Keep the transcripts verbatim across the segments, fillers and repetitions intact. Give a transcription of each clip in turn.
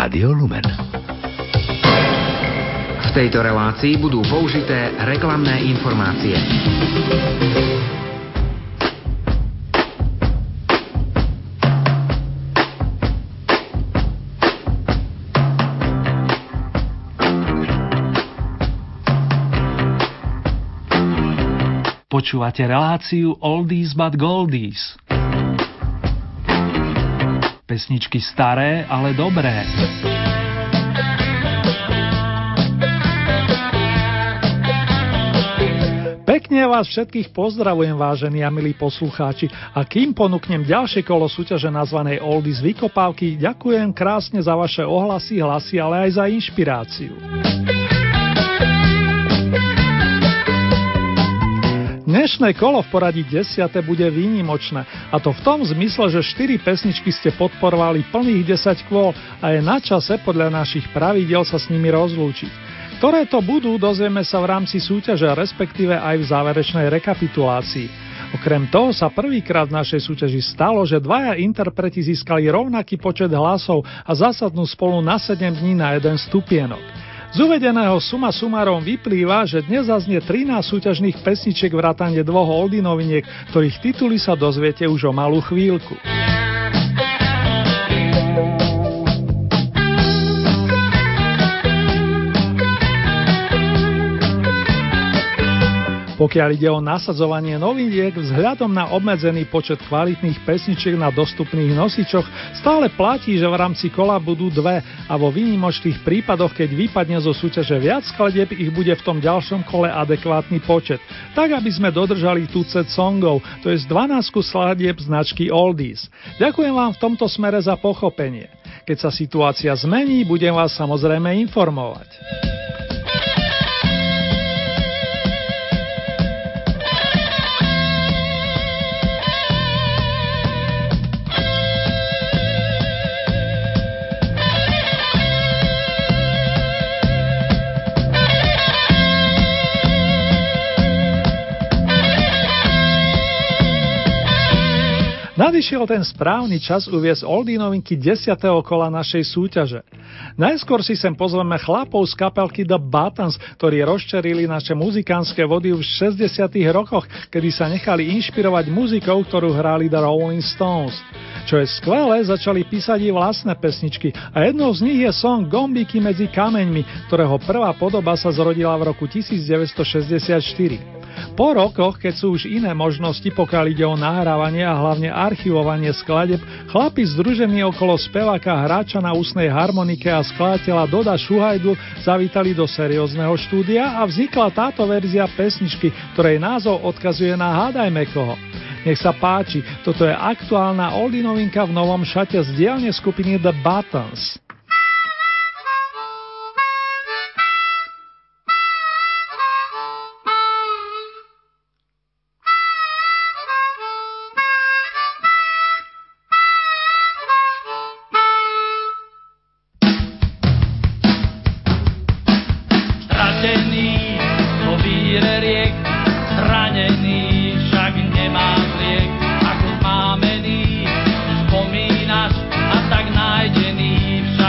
Rádio Lumen. V tejto relácii budú použité reklamné informácie. Počúvate reláciu Oldies but Goldies. Pesničky staré, ale dobré. Pekne vás všetkých pozdravujem, vážení a milí poslucháči. A kým ponúknem ďalšie kolo súťaže nazvanej Oldies vykopávky, ďakujem krásne za vaše ohlasy, hlasy, ale aj za inšpiráciu. Dnešné kolo v poradí desiate bude výnimočné, a to v tom zmysle, že štyri pesničky ste podporovali plných desať kôl a je na čase podľa našich pravidiel sa s nimi rozlúčiť. Ktoré to budú, dozvieme sa v rámci súťaže, respektíve aj v záverečnej rekapitulácii. Okrem toho sa prvýkrát v našej súťaži stalo, že dvaja interpreti získali rovnaký počet hlasov a zasadnú spolu na sedem dní na jeden stupienok. Z uvedeného suma sumárom vyplýva, že dnes zaznie trinásť súťažných pesničiek vrátane dvoch oldie noviniek, ktorých tituly sa dozviete už o malú chvíľku. Pokiaľ ide o nasadzovanie noviniek, vzhľadom na obmedzený počet kvalitných pesničiek na dostupných nosičoch, stále platí, že v rámci kola budú dve a vo výnimočných prípadoch, keď vypadne zo súťaže viac skladieb, ich bude v tom ďalšom kole adekvátny počet. Tak, aby sme dodržali tucet songov, to je z dvanásť skladieb značky Oldies. Ďakujem vám v tomto smere za pochopenie. Keď sa situácia zmení, budem vás samozrejme informovať. Nadišiel ten správny čas uviesť oldie novinky desiateho kola našej súťaže. Najskôr si sem pozveme chlapov z kapelky The Buttons, ktorí rozčerili naše muzikánske vody už v šesťdesiatych rokoch, kedy sa nechali inšpirovať muzikou, ktorú hrali The Rolling Stones. Čo je skvelé, začali písať i vlastné pesničky a jednou z nich je song Gombíky medzi kameňmi, ktorého prvá podoba sa zrodila v roku devätnásťstošesťdesiatštyri. Po rokoch, keď sú už iné možnosti, pokiaľ ide o nahrávanie a hlavne archivovanie skladeb, chlapi združení okolo speváka, hráča na ústnej harmonike a skladateľa Doda Šuhajdu zavítali do seriózneho štúdia a vznikla táto verzia pesničky, ktorej názov odkazuje na Hádajme koho. Nech sa páči, toto je aktuálna oldie novinka v novom šate z dielne skupiny The Buttons. Spomínaš a tak nájdený však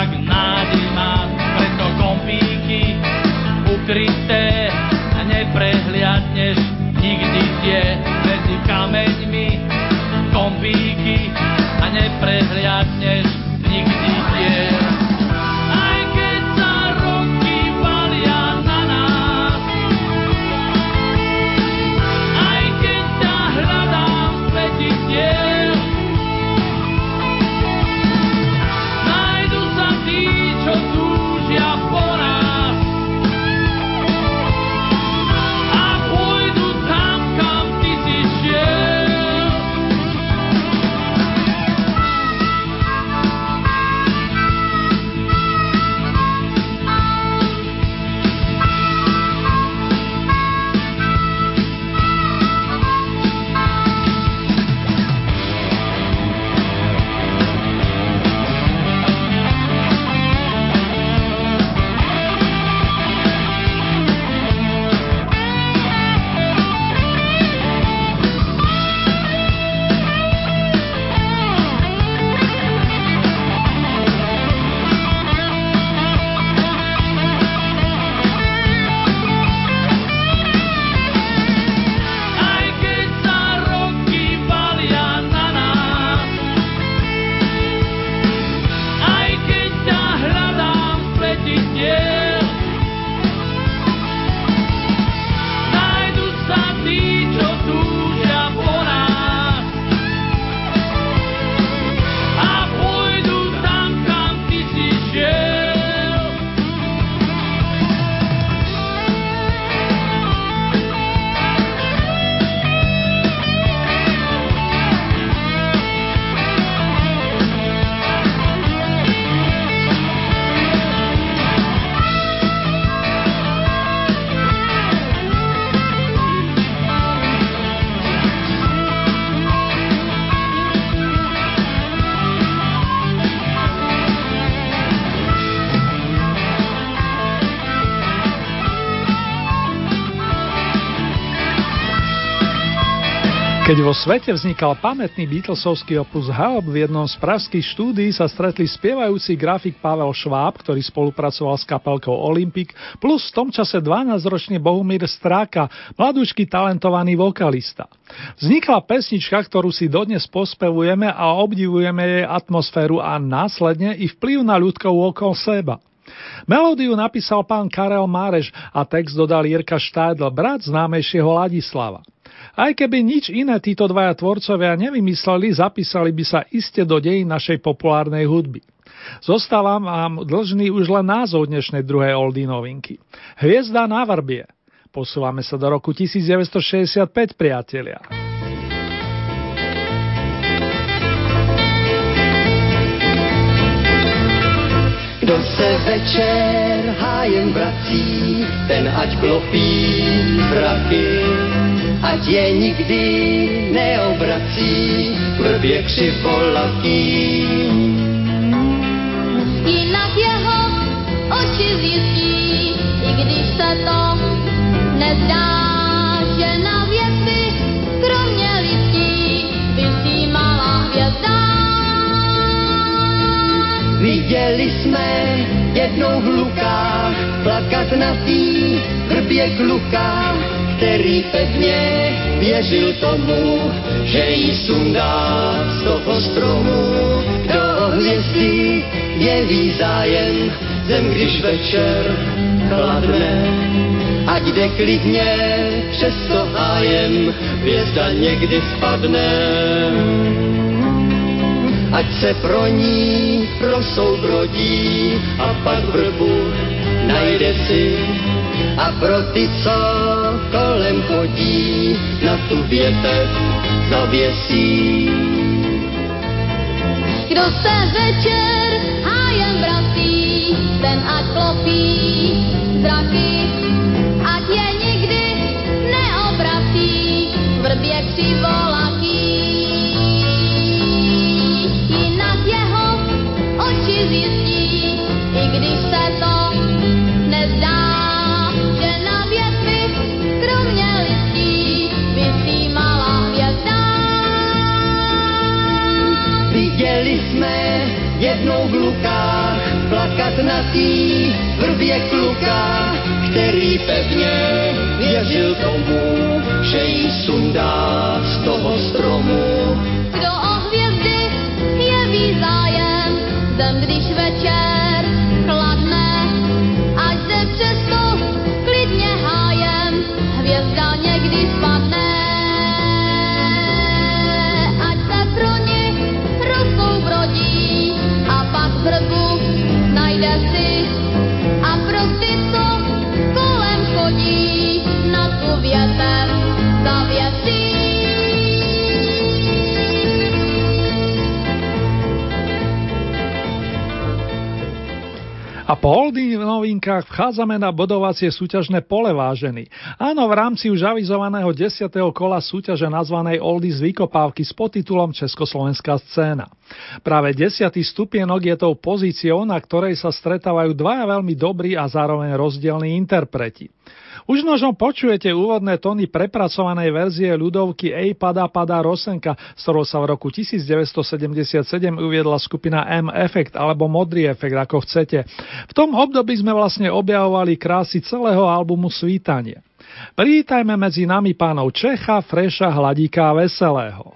Keď vo svete vznikal pamätný Beatlesovský opus Help, v jednom z pražských štúdií sa stretli spievajúci grafik Pavel Šváb, ktorý spolupracoval s kapelkou Olympic, plus v tom čase dvanásťročný Bohumír Stráka, mladúčky talentovaný vokalista. Vznikla pesnička, ktorú si dodnes pospevujeme a obdivujeme jej atmosféru a následne i vplyv na ľudkov okolo seba. Melódiu napísal pán Karel Máreš a text dodal Jirka Štajdl, brat známejšieho Ladislava. Aj keby nič iné títo dvaja tvorcovia nevymysleli, zapísali by sa iste do dejín našej populárnej hudby. Zostávam vám dlžný už len názov dnešnej druhej oldie novinky. Hviezda na vrbie. Posúvame sa do roku devätnásťstošesťdesiatpäť, priatelia. Kdo se večer hájem vrací, ten ať klopí zraky, ať je nikdy neobrací, vrbě křivolatý. Jinak jeho oči zjistí, i když se to nezdá, že na věci kromě lidí visí malá hvězda. Viděli jsme jednou v Lukách plakat na tý vrbě kluka, který pevně věřil tomu, že jí sundá z toho stromu. Kdo o hvězdy jeví zájem, zem když večer chladne, ať jde klidně přes to hájem, hvězda někdy spadne. Ať se pro ní prosoubrodí a pak vrbu najde si, a pro ty, co kolem chodí, na tu větev zavěsí. Kdo se večer hájem vrací, ten ať klopí zraky, ať je nikdy neobrací, vrbě křivolatý. Jinak jeho oči zjistí, i když se to nezdá, že na větvi kromě listí visí malá hvězda. Viděli jsme jednou v Lukách plakat na tý vrbě kluka, který pevně věřil tomu, že jí sundá z toho stromu. Kdo o hvězdy jeví zájem, zem když večer chladne, ať se přesto klidně hájem, hvězda někdy spadne. Ať se pro ní rozsoubrodí a pak vrbu najde si, a pro ty, co kolem chodí, na tu větev zavěsí. A po oldie novinkách vchádzame na bodovacie súťažné pole, vážení. Áno, v rámci už avizovaného desiateho kola súťaže nazvanej Oldies vykopávky s podtitulom Československá scéna. Práve desiatý stupienok je tou pozíciou, na ktorej sa stretávajú dvaja veľmi dobrí a zároveň rozdielni interpreti. Už možno počujete úvodné tóny prepracovanej verzie ľudovky Ej padá padá Rosenka, s ktorou sa v roku devätnásťstosedemdesiatsedem uviedla skupina M-Effect alebo Modrý efekt, ako chcete. V tom období sme vlastne objavovali krásy celého albumu Svítanie. Privítajme medzi nami pánov Čecha, Freša, Hladíka a Veselého.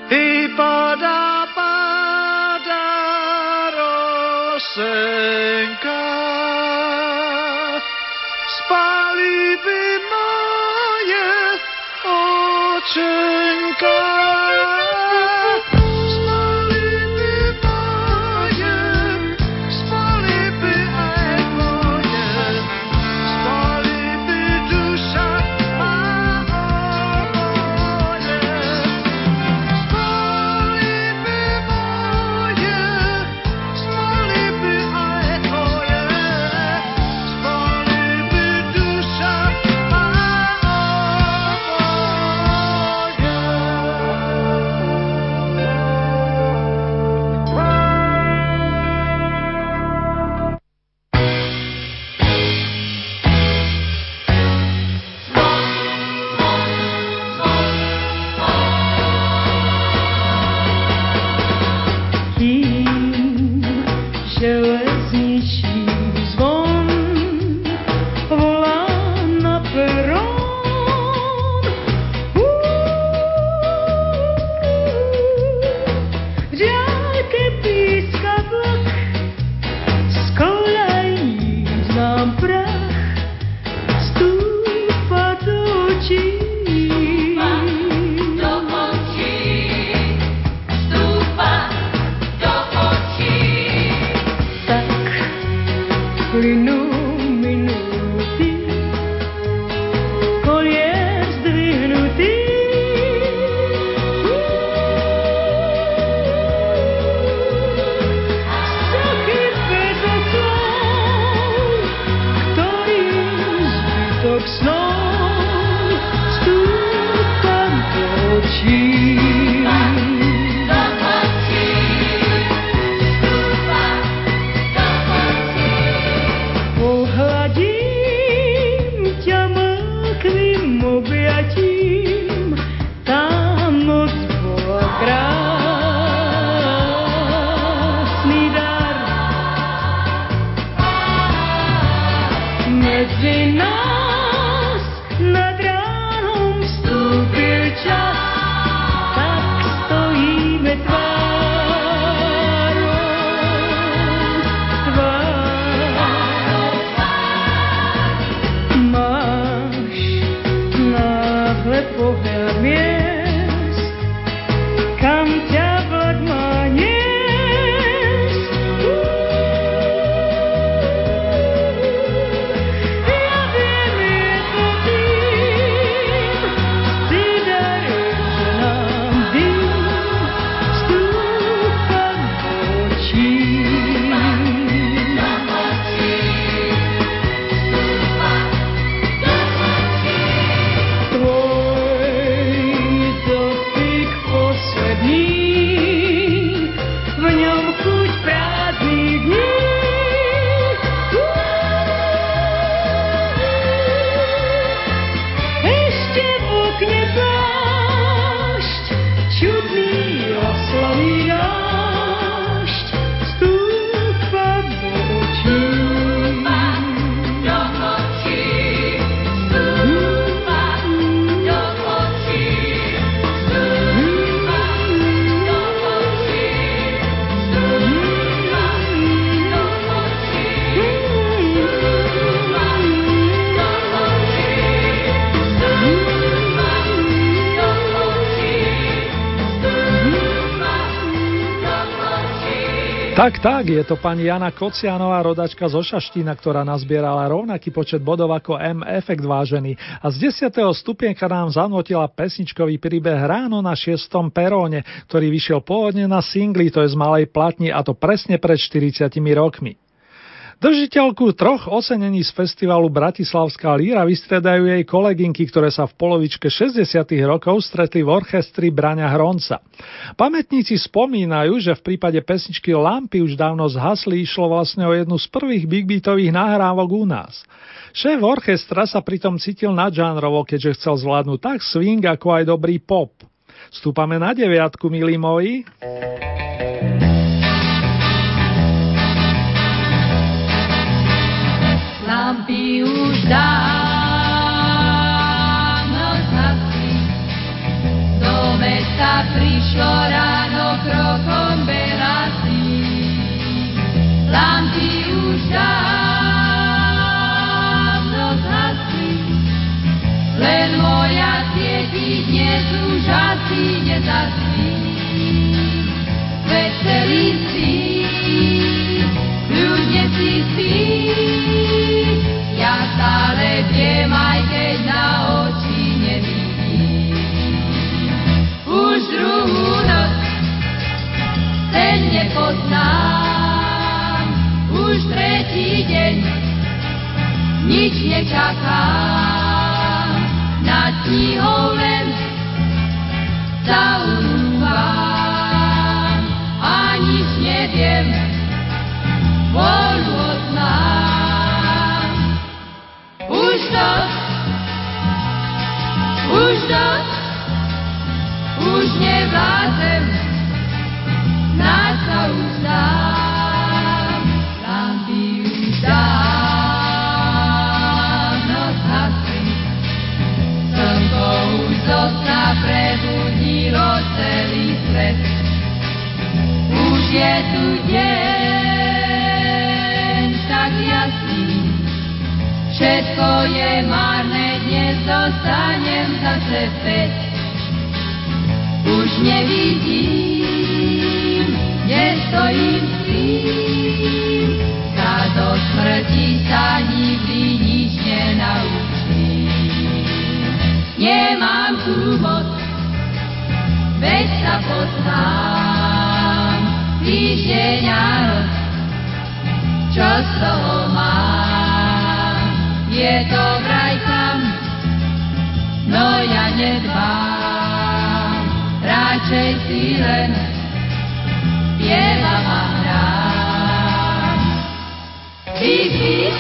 i padá, padá rosenka. Spali by moje očenka. Tak, tak, je to pani Jana Kocianová, rodačka zo Šaštína, ktorá nazbierala rovnaký počet bodov ako M. Efekt vážený. A z desiateho stupienka nám zanotila pesničkový príbeh Ráno na šiestom peróne, ktorý vyšiel pôvodne na singli, to je z malej platni, a to presne pred štyridsiatimi rokmi. Držiteľku troch ocenení z festivalu Bratislavská líra vystriedajú jej kolegynky, ktoré sa v polovičke šesťdesiatych rokov stretli v orchestri Braňa Hronca. Pamätníci spomínajú, že v prípade pesničky Lampy už dávno zhasli, išlo vlastne o jednu z prvých big beatových nahrávok u nás. Šéf orchestra sa pritom cítil nadžánrovo, keďže chcel zvládnuť tak swing, ako aj dobrý pop. Stúpame na deviatku, milí moji. Lampy už dávno zhasli, do mesta prišlo celý svít, ľudne si spí. Ja stále viem, aj keď na oči nevidím. Už druhú noc ten nepoznám, už tretí deň nič nečakám, nad knihou len zaunúvam a nič neviem, vôľu odznám. Už to, už to, už nevládzem, snáď sa už dám, lampy už dávno zhasli, slnko už zo sna prebudilo celý svet. Už je tu deň tak jasný, všetko je marné, dnes dostanem zase späť. Už nevidím, nestojím s tým, sa do smrti sa nikdy nič nenaučím. Nemám tú moc, veď sa poznám, týždeň a noc, čo z toho mám, je to vraj tam, no ja nedbám, radšej si len spievam a hrám. Big, big,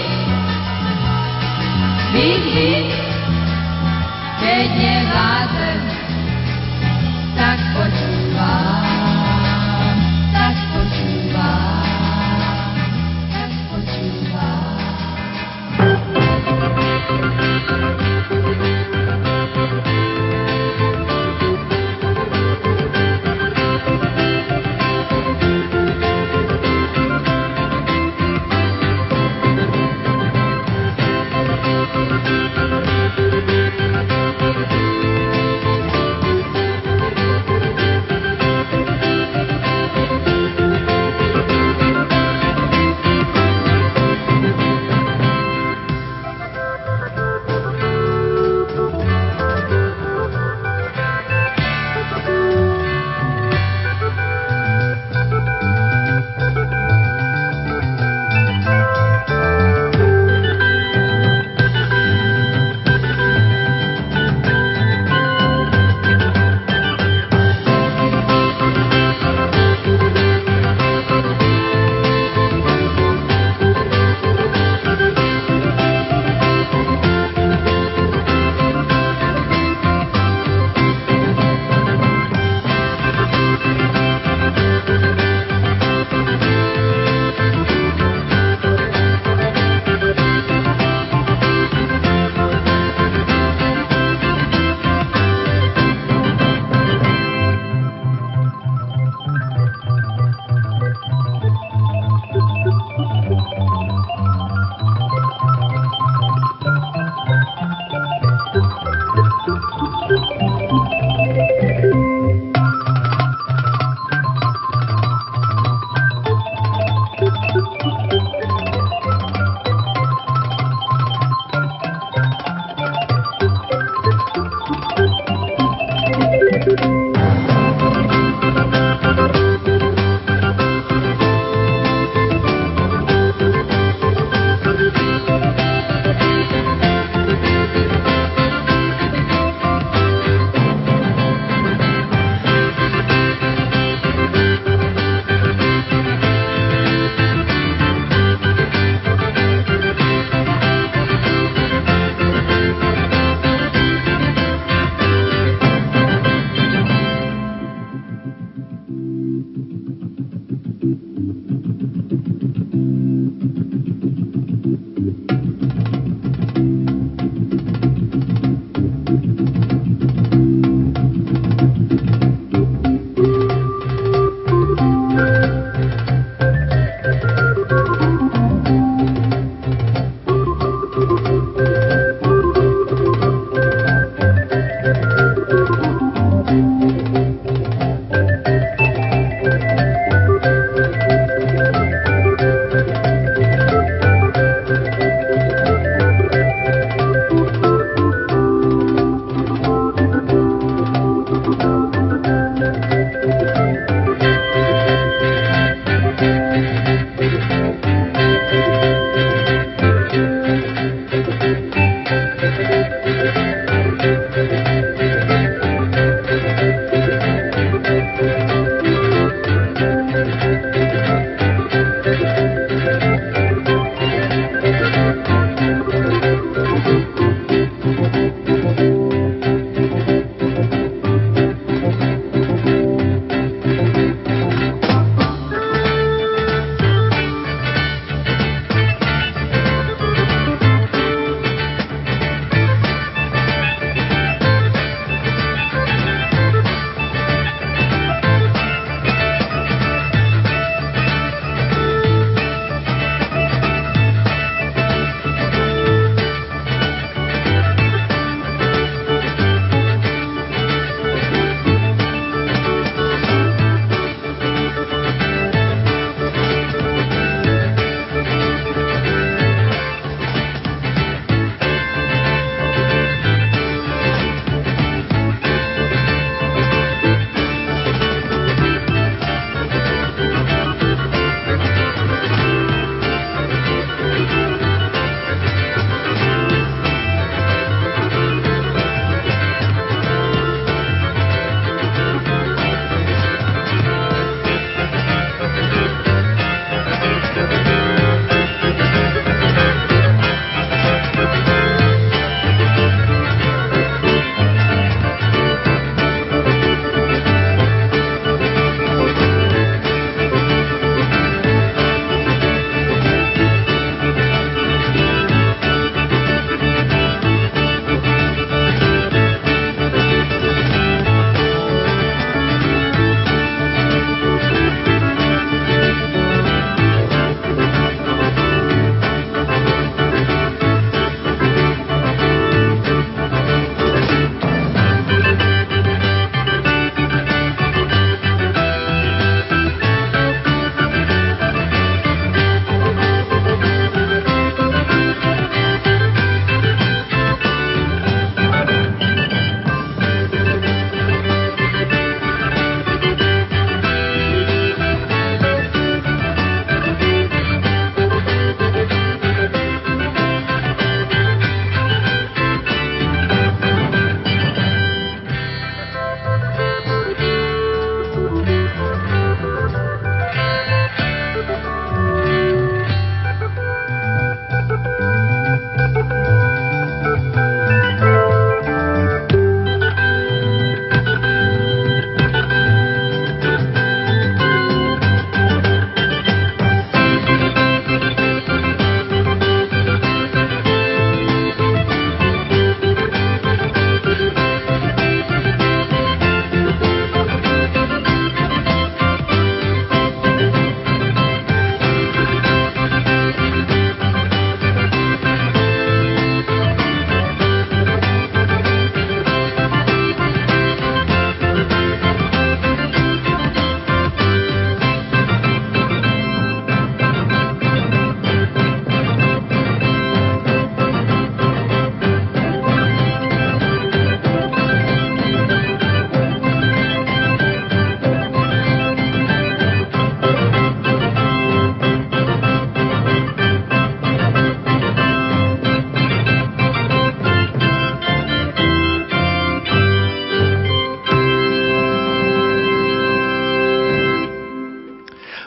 big, big, keď nevládzem, tak počúvam, tak počúvam, tak počúvam.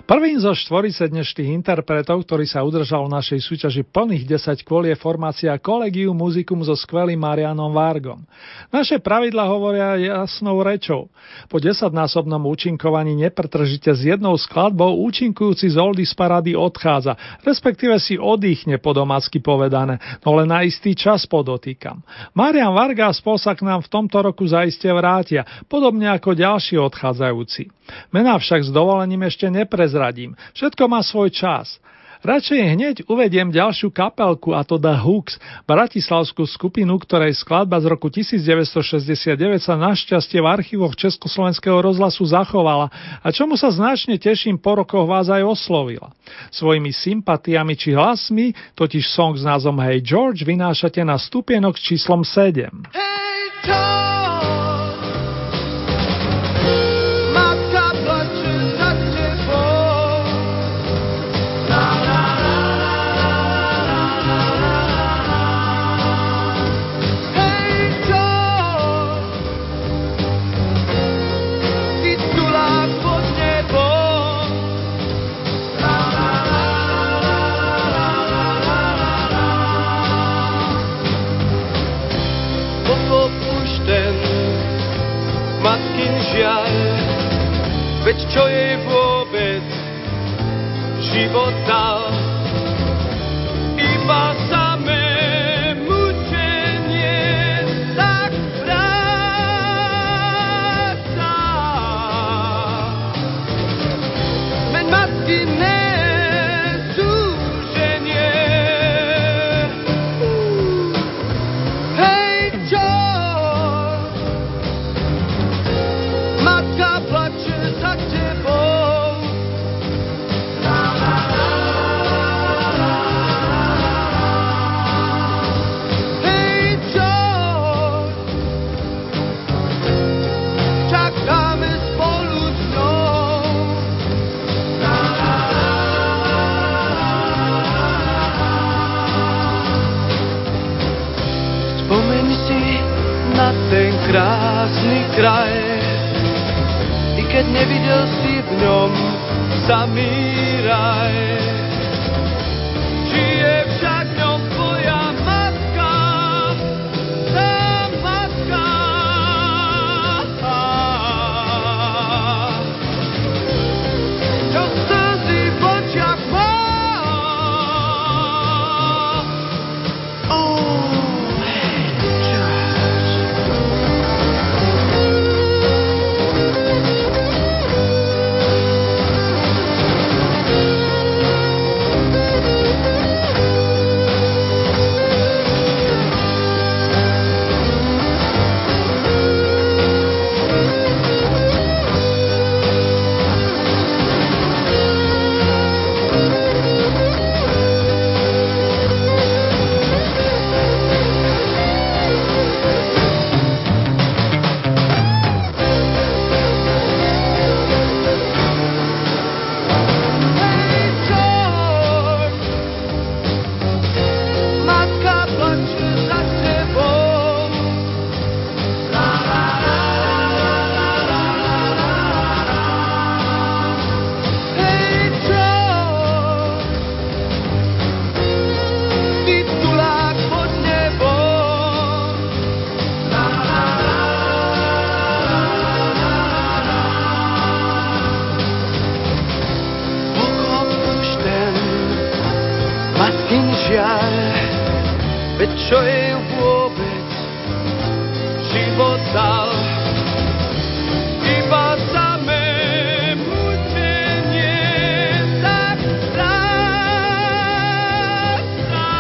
Prvým zo štvorice dnešných interpretov, ktorý sa udržal v našej súťaži plných desať kôl, je formácia Collegium Musicum so skvelým Marianom Vargom. Naše pravidlá hovoria jasnou rečou. Po desaťnásobnom účinkovaní nepretržite s jednou skladbou účinkujúci z Oldies parády odchádza, respektíve si oddychne, po domácky povedané, no len na istý čas podotýkam. Marian Varga a spol sa k nám v tomto roku zaiste vrátia, podobne ako ďalší odchádzajúci. Mená však s dovolením ešte neprezradím. Všetko má svoj čas. Radšej hneď uvediem ďalšiu kapelku, a to The Hooks, bratislavskú skupinu, ktorej skladba z roku devätnásťstošesťdesiatdeväť sa našťastie v archívoch Československého rozhlasu zachovala a čomu sa značne teším, po rokoch vás aj oslovila. Svojimi sympatiami či hlasmi totiž song s názvom Hey George vynášate na stupienok s číslom sedem. Hey George, matka plače za tebou. La, la, la, la, la, la, la. Hey George, titulák pod nebom. La, la, la, la, la, la, la. Pokopušten matkin žiaľ, veď čo jej vôbec život dal, iba samé mučenie tak vráca. Veď matkiné súženie. Hej George, matka plače za tebou. La, la, la, la, la. Hej George, čakáme spolu s ňou. La, la, la, la. Spomeň si na ten krásny kraj, i keď nevidel si v ňom samý raj. Žije však v ňom tvoja matka, tá matka. Čo slzy v očiach má. Oh, hey, George. Hey George, matka plače za tebou. La, la, la, la, la, la, la. Hey George, titulák pod nebom. La, la, la, la, la, la. Pokopušten matkin žiaľ, veď čo jej vôbec život dal, iba samé mučenie tak stráca.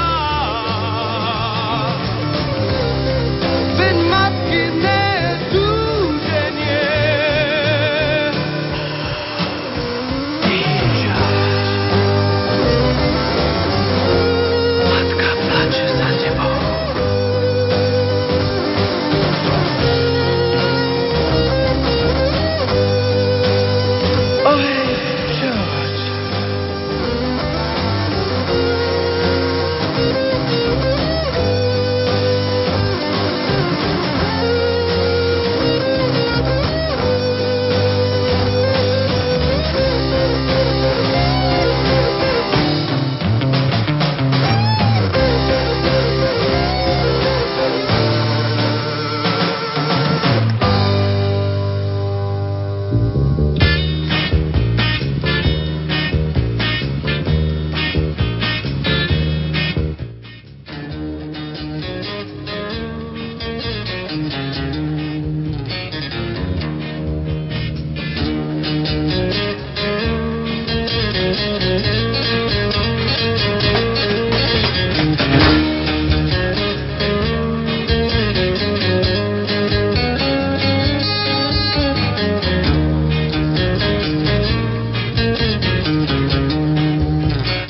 Veď matkiné súženie. Matka plače za tebou.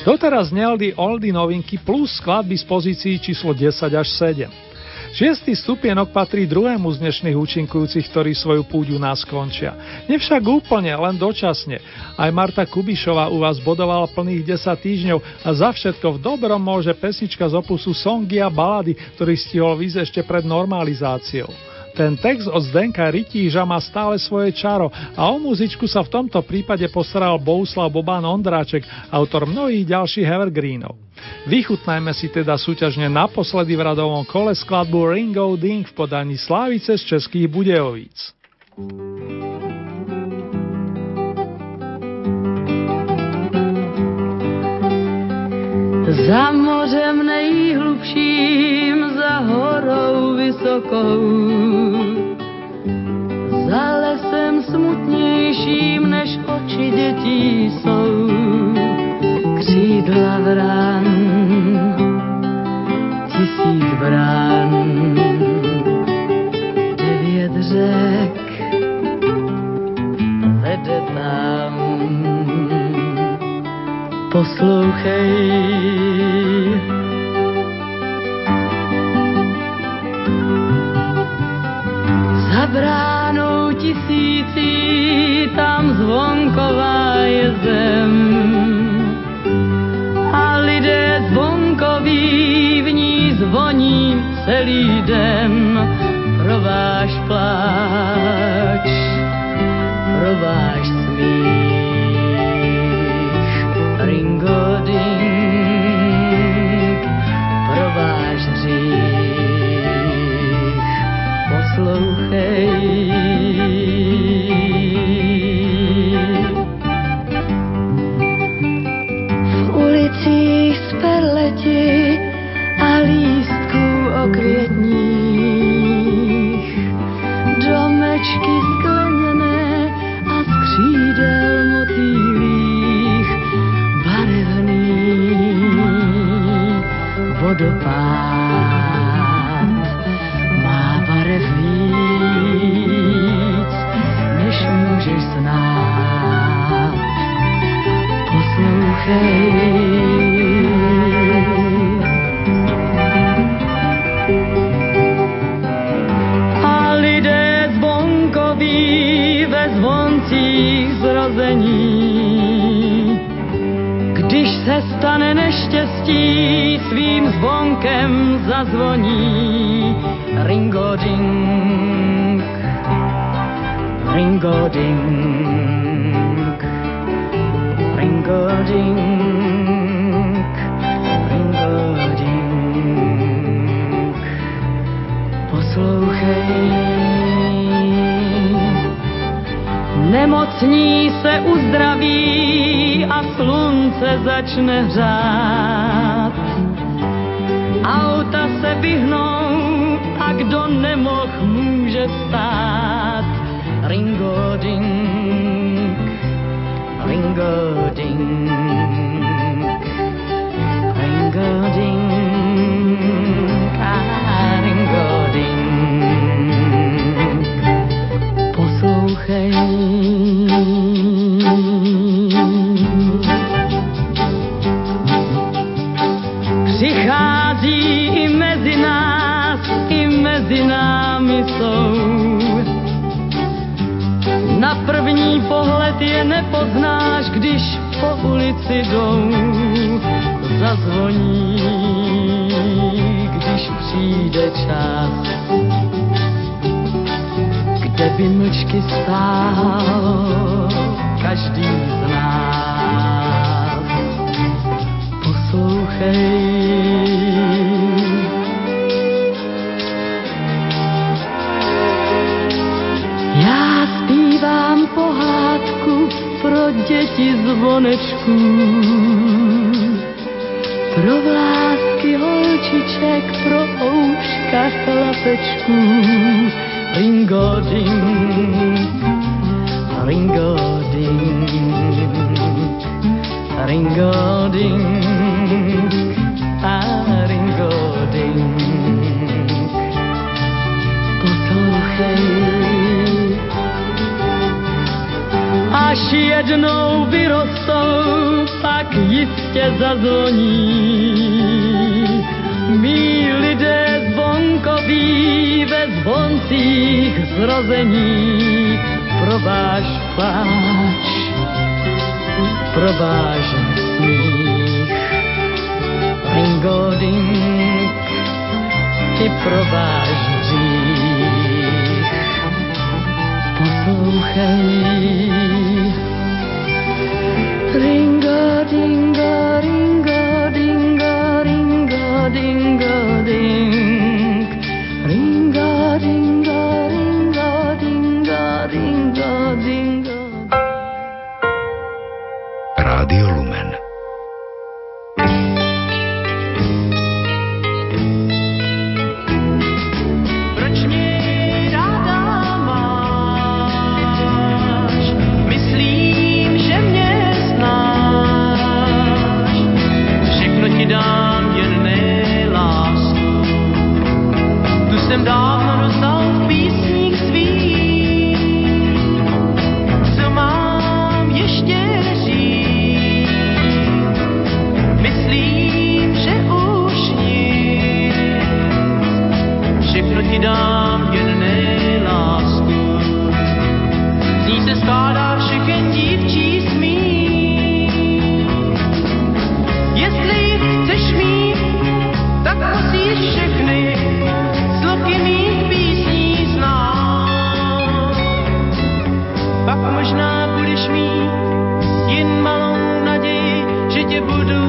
Doteraz zneli oldie novinky plus skladby z pozícií číslo desať až sedem. Šiestý stupienok patrí druhému z dnešných účinkujúcich, ktorí svoju púť u nás končia. Nevšak úplne, len dočasne. Aj Marta Kubišová u vás bodovala plných desať týždňov a za všetko v dobrom môže pesnička z opusu Songy a balady, ktorý stihol výjsť ešte pred normalizáciou. Ten text od Zdenka Rytíža má stále svoje čaro a o muzičku sa v tomto prípade postaral Bohuslav Boban Ondráček, autor mnohých ďalších evergreenov. Vychutnajme si teda súťažne naposledy v radovom kole skladbu Ringo Ding v podaní Slávice z Českých Budějovíc. Za mořem nejhlubším, za horou vysokou, za lesem smutnějším, než oči dětí jsou, křídla vran, tisíc brán, devět řek vede tam. Poslouchej, za bránou tisící, tam zvonková je zem a lidé zvonkoví v ní zvoní celý den pro váš pláč, pro váš smích. Ringo Ding, pro váš hřích, poslouchej. V ulicích z perleti a lístků okvětních, domečky skleněné a z křídel motýlích, vodopád má barev víc, než můžeš znát. Poslouchej. A lidé zvonkoví ve zvoncích zrození, když se stane neštěstí, svým zvonkem zazvoní. Ringo Ding, Ringo Ding, Ringo Ding, Ringo Ding. Poslouchej. Nemocní se uzdraví a slunce začne hřát. Auta se vyhnou a kdo nemoh může vstát. Ringo Ding, Ringo Ding, Ringo Ding, a Ringo Ding. Poslouchej. Přichází i mezi nás, i mezi námi jsou. Na první pohled je nepoznáš, když po ulici jdou. Zazvoní, když přijde čas, kde by mlčky stál každý z nás. Poslouchej. Já zpívám pohádku pro děti zvonečků, pro vlásky holčiček, pro ouška chlapečků. Ringo Ding, Ringo Ding, Ringo Ding, a Ringo Ding. Poslouchej. Až až jednou vyrostou, pak jistě zazvoní. Mí lidé zvonkoví ve zvoncích zrození, pro váš pláč, pro váš smích. Ringodink, i pro váš hřích. Poslouchej. Ringo, dingo, ringo, dingo, ringo, dingo, ding. Ringo, dingo, ringo, dingo, dingo, dingo. Rádio Lumen. Jsem dávno rozdal v písních svých, co mám ještě říct. Myslím, že už nic, všechno ti dám, jen ne lásku. Z ní se skládá všechen dívčí smích. Jestli chceš mít, tak musíš všechny sloky mých písní znát. Pak možná budeš mít jen malou naději, že tě budu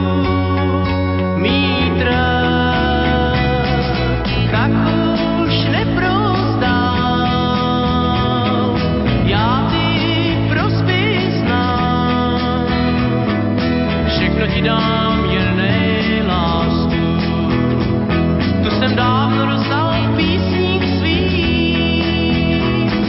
mít rád. Tak už neprozdám, já ty prosby znám. Všechno ti dám, jen ne lásku. Tu jsem dávno rozdal v písních svých.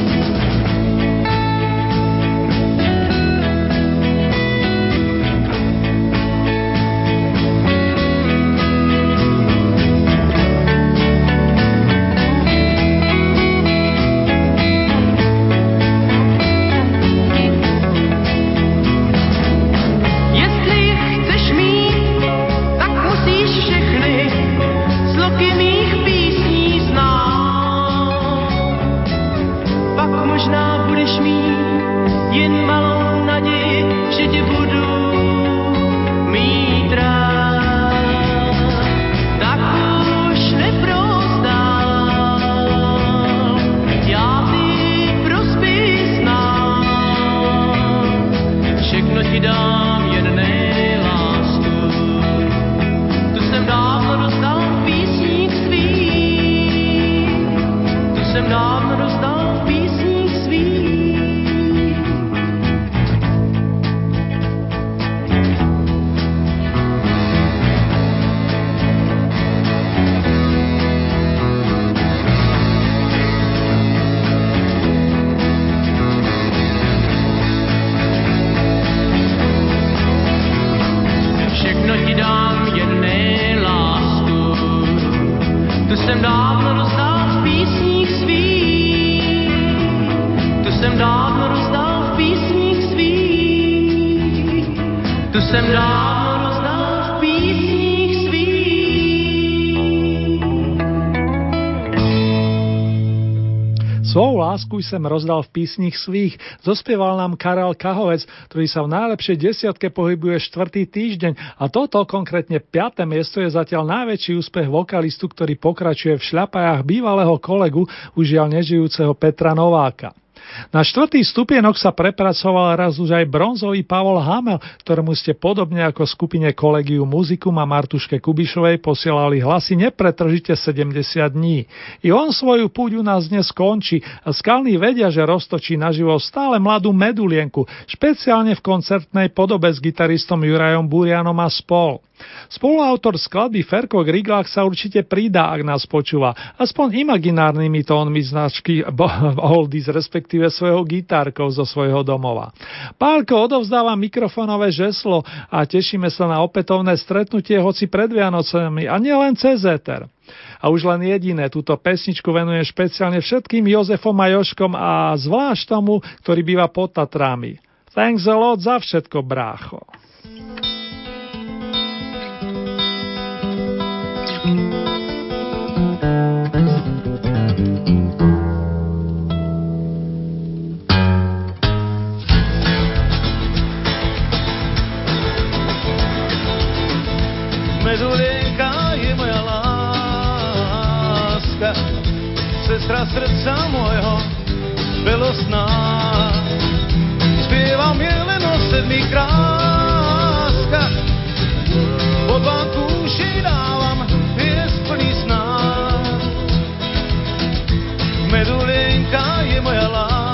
Jestli chceš mít, tak musíš všechny sloky mých písní znát. Pak možná budeš mít jen malou naději, že tě budu mít rád. Tak už neprozdám, já ty prosby znám. Všechno ti dám, jen ne lásku. Tu jsem dávno rozdal v písních svých. Tu jsem dávno rozdal v písních svých. Všechno ti dám, jen ne lásku. Tu jsem dávno rozdal v písních svých. Tu jsem dávno rozdal v písních svých. Tu jsem dávno rozdal v písních svých. Svou lásku sem rozdal v písních svých, zospieval nám Karel Kahovec, ktorý sa v najlepšej desiatke pohybuje štvrtý týždeň a toto, konkrétne piate miesto, je zatiaľ najväčší úspech vokalistu, ktorý pokračuje v šľapajách bývalého kolegu, už žiaľ nežijúceho Petra Nováka. Na štvrtý stupienok sa prepracoval raz už aj bronzový Pavol Hamel, ktorému ste podobne ako skupine Collegium Musicum a Martuške Kubišovej posielali hlasy nepretržite sedemdesiat dní. I on svoju púť u nás dnes končí a skalní vedia, že roztočí naživo stále mladú medulienku, špeciálne v koncertnej podobe s gitaristom Jurajom Burianom a spol. Spoluautor skladby Ferko Griglák sa určite pridá, ak nás počúva, aspoň imaginárnymi tónmi značky Oldies, respektíve svojho gitárkou zo svojho domova. Pálko odovzdáva mikrofónové žeslo a tešíme sa na opätovné stretnutie, hoci pred Vianocami a nielen cez éter. A už len jediné, túto pesničku venujem špeciálne všetkým Jozefom a Jožkom a zvlášť tomu, ktorý býva pod Tatrami. Thanks a lot za všetko, brácho. Medulienka je moja láska, sestra srdca môjho belosná. Spievam je len o sedmých kráskach, pod vám kúši dávam pies plný sná. Medulienka je moja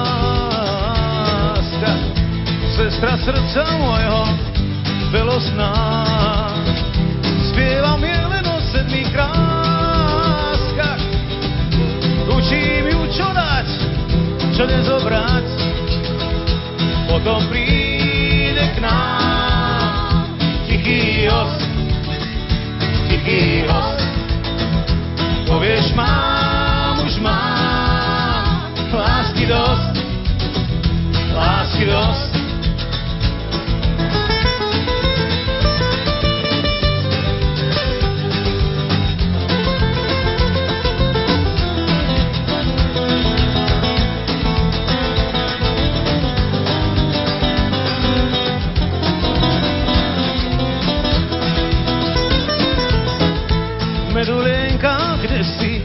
láska, sestra srdca môjho belosná. Spievam je len o sedmých kráskach, učím ju čo dať, čo nezobrať. Potom príde k nám tichý host, tichý host. Povieš, mám, už mám lásky dosť, lásky dosť. Medulienka, kde si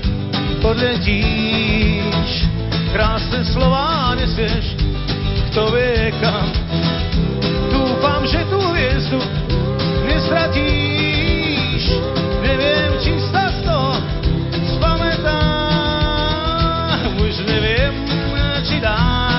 odletíš, krásne slová nesieš, kto vie kam. Dúfam, že tú hviezdu nestratíš, neviem, či sa z toho spamätám. Už neviem, či dá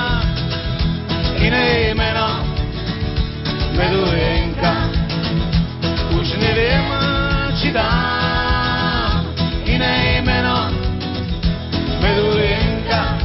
iné meno Medulienka. Už neviem, či dá iné meno Medulienka.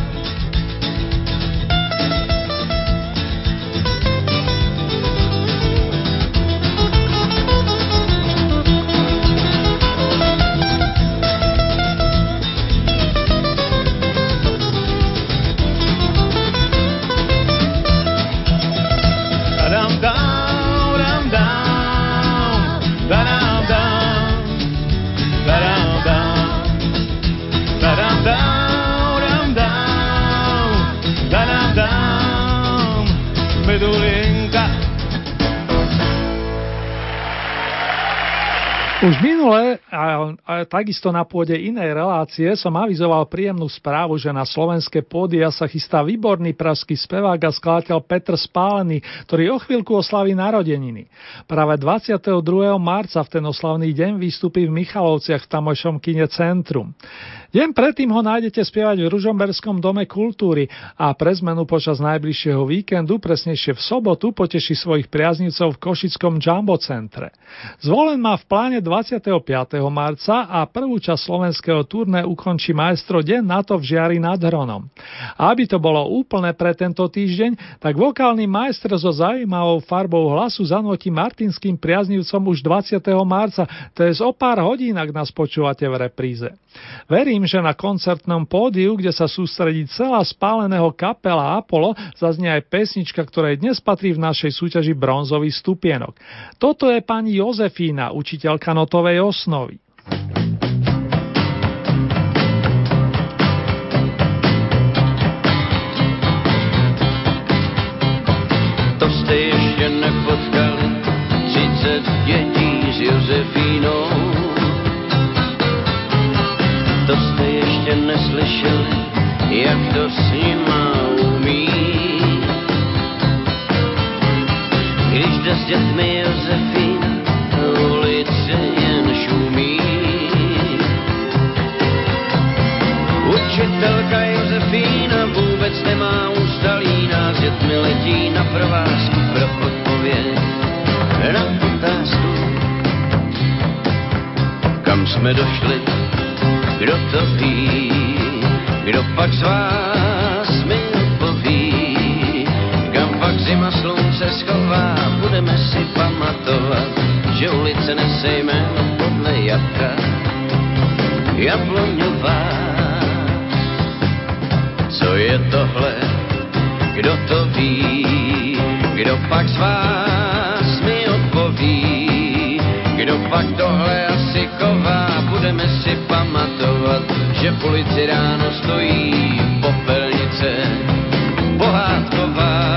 Dam down, dam down, dam down, dam down. Da-dam down, dam down, da-dam down, Medulienka. Už minule, a, a takisto na pôde inej relácie, som avizoval príjemnú správu, že na slovenské pódia sa chystá výborný pražský spevák a skladateľ Petr Spálený, ktorý o chvíľku oslaví narodeniny. Práve dvadsiateho druhého marca v ten oslavný deň vystúpi v Michalovciach v tamojšom kine Centrum. Deň predtým ho nájdete spievať v Ružomberskom dome kultúry a pre zmenu počas najbližšieho víkendu, presnejšie v sobotu, poteší svojich priaznivcov v Košickom Jumbo centre. Zvolen má v pláne dvadsiateho piateho marca a prvú časť slovenského turné ukončí maestro deň na to v Žiari nad Hronom. A aby to bolo úplne pre tento týždeň, tak vokálny majster so zaujímavou farbou hlasu zanotí martinským priaznivcom už dvadsiateho marca, to je o pár hodín, ak nás počúvate v repríze. Verím, že na koncertnom pódiu, kde sa sústredí celá Spáleného kapela Apollo, zaznie aj pesnička, ktorej dnes patrí v našej súťaži bronzový stupienok. Toto je pani Jozefína, učiteľka notovej osnovy. To jste ještě nepotkali třicet dětí s Josefínou. To jste ještě neslyšeli, jak to s nima umí. Když jde s dětmi Josefína, ulice jen šumí. Učitelka Josefína vůbec nemá ústa líná, s dětmi letí na provázku pro odpověď na otázku. Kam jsme došli? Kdo to ví, kdo pak z vás mi odpoví, kam pak zima slunce schová, budeme si pamatovat, že ulice nese jméno podle jabka Jabloňová. Co je tohle, kdo to ví, kdo pak z vás mi odpoví, kdo pak tohle asi ková, budeme si pamatovat, že v ulici ráno stojí popelnice pohádková.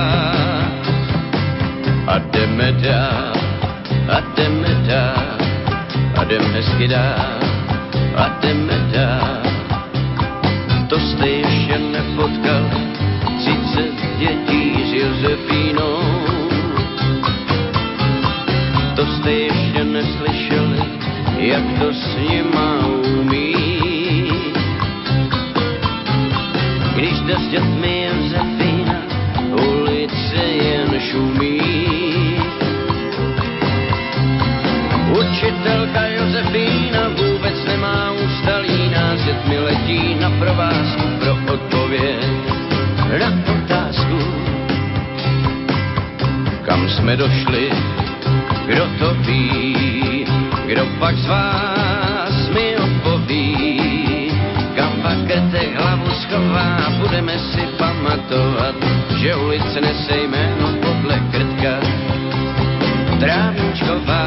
A jdeme dál, a jdeme dál, a jdeme hezky dál, a jdeme dál. To jste ještě nepotkali, třicet dětí s Josefínou. To jste ještě neslyšeli, jak to s nima umí. Když jde s dětmi Josefína, ulice jen šumí. Učitelka Josefína vůbec nemá ústalí, s dětmi letí na provázku pro odpověď na otázku. Kam jsme došli, kdo to ví, kdo pak z vás mi odpoví, kam pak krtek hlavu schová, budeme si pamatovat, že ulice nese jméno podle krtka Trávničková.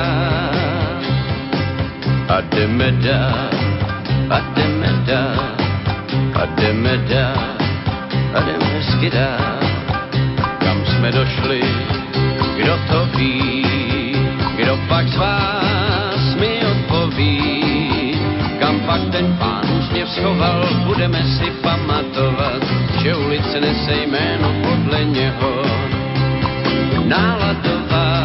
A jdeme dál, a jdeme dál, a jdeme dál, a jdeme hezky dál. Kam jsme došli, kdo to ví, kdo pak z vás mi odpoví, kam pak ten pán úsměv schoval, budeme si pamatovat, že ulice nese jméno podle něho Náladová.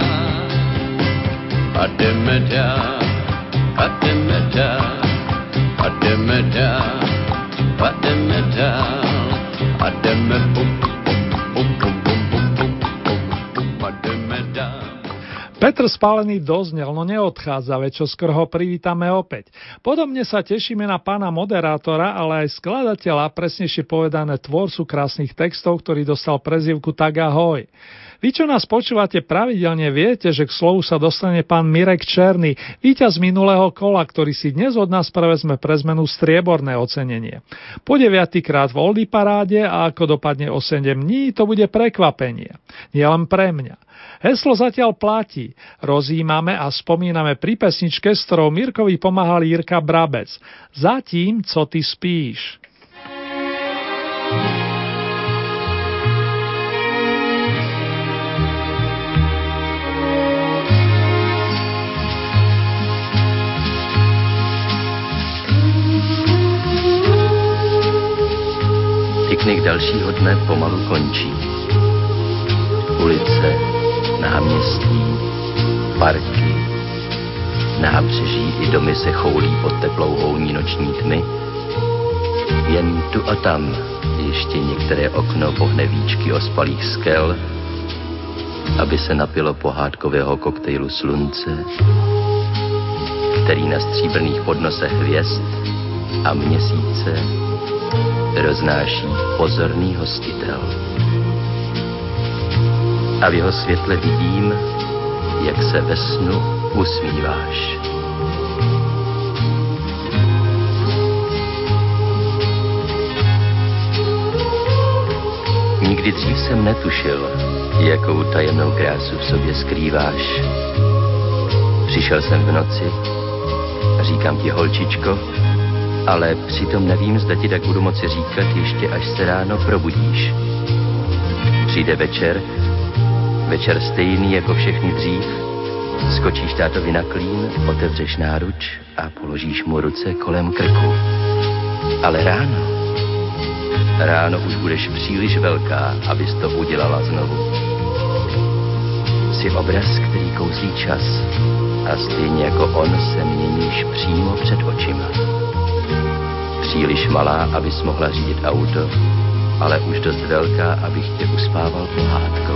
A jdeme dál, a jdeme dál, a jdeme dál, a jdeme dál, a jdeme bum, bum, bum, bum, bum, bum, bum, bum, a jdeme dál. Petr Spálený doznel, no neodchádza, veď čo skoro ho privítame opäť. Podobne sa tešíme na pána moderátora, ale aj skladateľa, presnejšie povedané tvorcu krásnych textov, ktorý dostal prezývku Tak ahoj. Vy, čo nás počúvate pravidelne, viete, že k slovu sa dostane pán Mirek Černý, víťaz minulého kola, ktorý si dnes od nás prevezme pre zmenu strieborné ocenenie. Po deviatykrát v Oldie paráde a ako dopadne o sedem dní, to bude prekvapenie. Nie len pre mňa. Heslo zatiaľ platí. Rozímame a spomíname pri pesničke, s ktorou Mirkovi pomáhal Jirka Brabec. Zatím, co ty spíš. Piknik dalšího dne pomalu končí. Ulice, náměstí, parky, nábřeží i domy se choulí pod teplou houní noční tmy. Jen tu a tam ještě některé okno pohne víčky ospalých skel, aby se napilo pohádkového koktejlu slunce, který na stříbrných podnosech hvězd a měsíce roznáší pozorný hostitel. A v jeho světle vidím, jak se ve snu usmíváš. Nikdy dřív jsem netušil, jakou tajemnou krásu v sobě skrýváš. Přišel jsem v noci a říkám ti, holčičko, ale přitom nevím, zda ti tak budu moci říkat ještě, až se ráno probudíš. Přijde večer, večer stejný jako všechny dřív, skočíš tátovi na klín, otevřeš náruč a položíš mu ruce kolem krku. Ale ráno, ráno už budeš příliš velká, abys to udělala znovu. Jsi obraz, který kouzlí čas a stejně jako on se měníš přímo před očima. Příliš malá, abys mohla řídit auto, ale už dost velká, abych tě uspával pohádkou.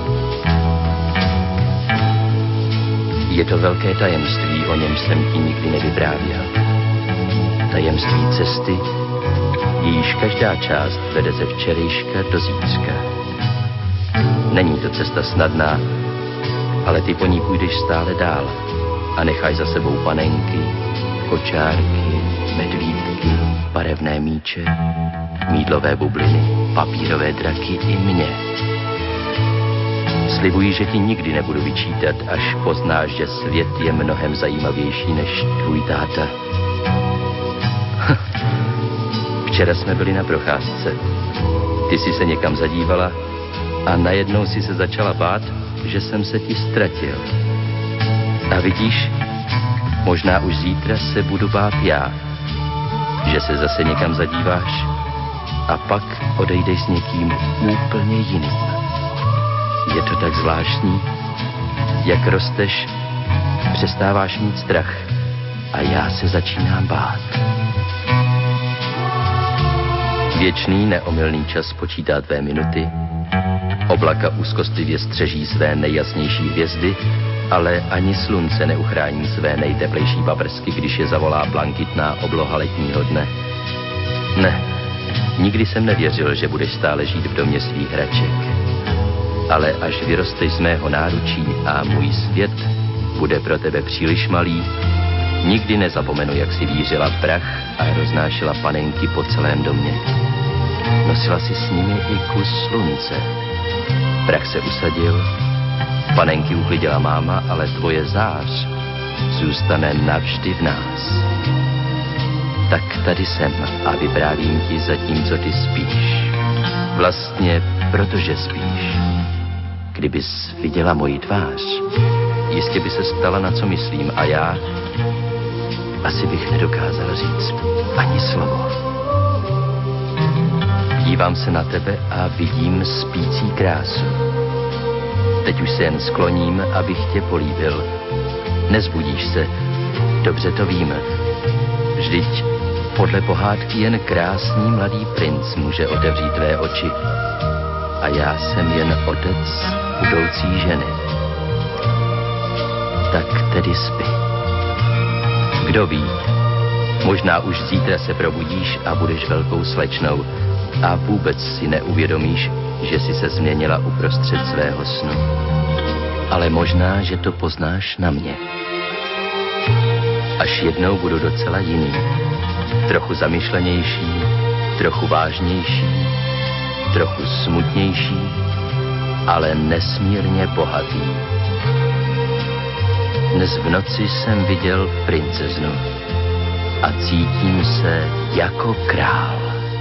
Je to velké tajemství, o něm jsem ti nikdy nevyprávěl. Tajemství cesty, jejíž každá část vede ze včerejška do zítřka. Není to cesta snadná, ale ty po ní půjdeš stále dál a nechaj za sebou panenky, kočárky, medvídky, barevné míče, mýdlové bubliny, papírové draky i mě. Slibuji, že ti nikdy nebudu vyčítat, až poznáš, že svět je mnohem zajímavější než tvůj táta. Včera jsme byli na procházce. Ty jsi se někam zadívala a najednou si se začala bát, že jsem se ti ztratil. A vidíš, možná už zítra se budu bát já, že se zase někam zadíváš a pak odejdeš s někým úplně jiným. Je to tak zvláštní, jak rosteš, přestáváš mít strach a já se začínám bát. Věčný neomylný čas počítá tvé minuty, oblaka úzkostlivě střeží své nejjasnější hvězdy, ale ani slunce neuchrání své nejteplejší paprsky, když je zavolá blankitná obloha letního dne. Ne, nikdy jsem nevěřil, že budeš stále žít v domě svých hraček. Ale až vyrosteš z mého náručí a můj svět bude pro tebe příliš malý, nikdy nezapomenu, jak si vířila prach a roznášela panenky po celém domě. Nosila si s nimi i kus slunce. Prach se usadil, panenky uklidila máma, ale tvoje zář zůstane navždy v nás. Tak tady jsem a vyprávím ti zatímco ty spíš. Vlastně protože spíš. Kdybys viděla moji tvář, jistě by se ptala, na co myslím, a já asi bych nedokázal říct ani slovo. Dívám se na tebe a vidím spící krásu. Teď už se jen skloním, abych tě políbil. Nezbudíš se, dobře to vím. Vždyť podle pohádky jen krásný mladý princ může otevřít tvé oči. A já jsem jen otec budoucí ženy. Tak tedy spí. Kdo ví, možná už zítra se probudíš a budeš velkou slečnou a vůbec si neuvědomíš, že jsi se změnila uprostřed svého snu. Ale možná, že to poznáš na mě. Až jednou budu docela jiný. Trochu zamyšlenější, trochu vážnější, trochu smutnější, ale nesmírně bohatý. Dnes v noci jsem viděl princeznu a cítím se jako král.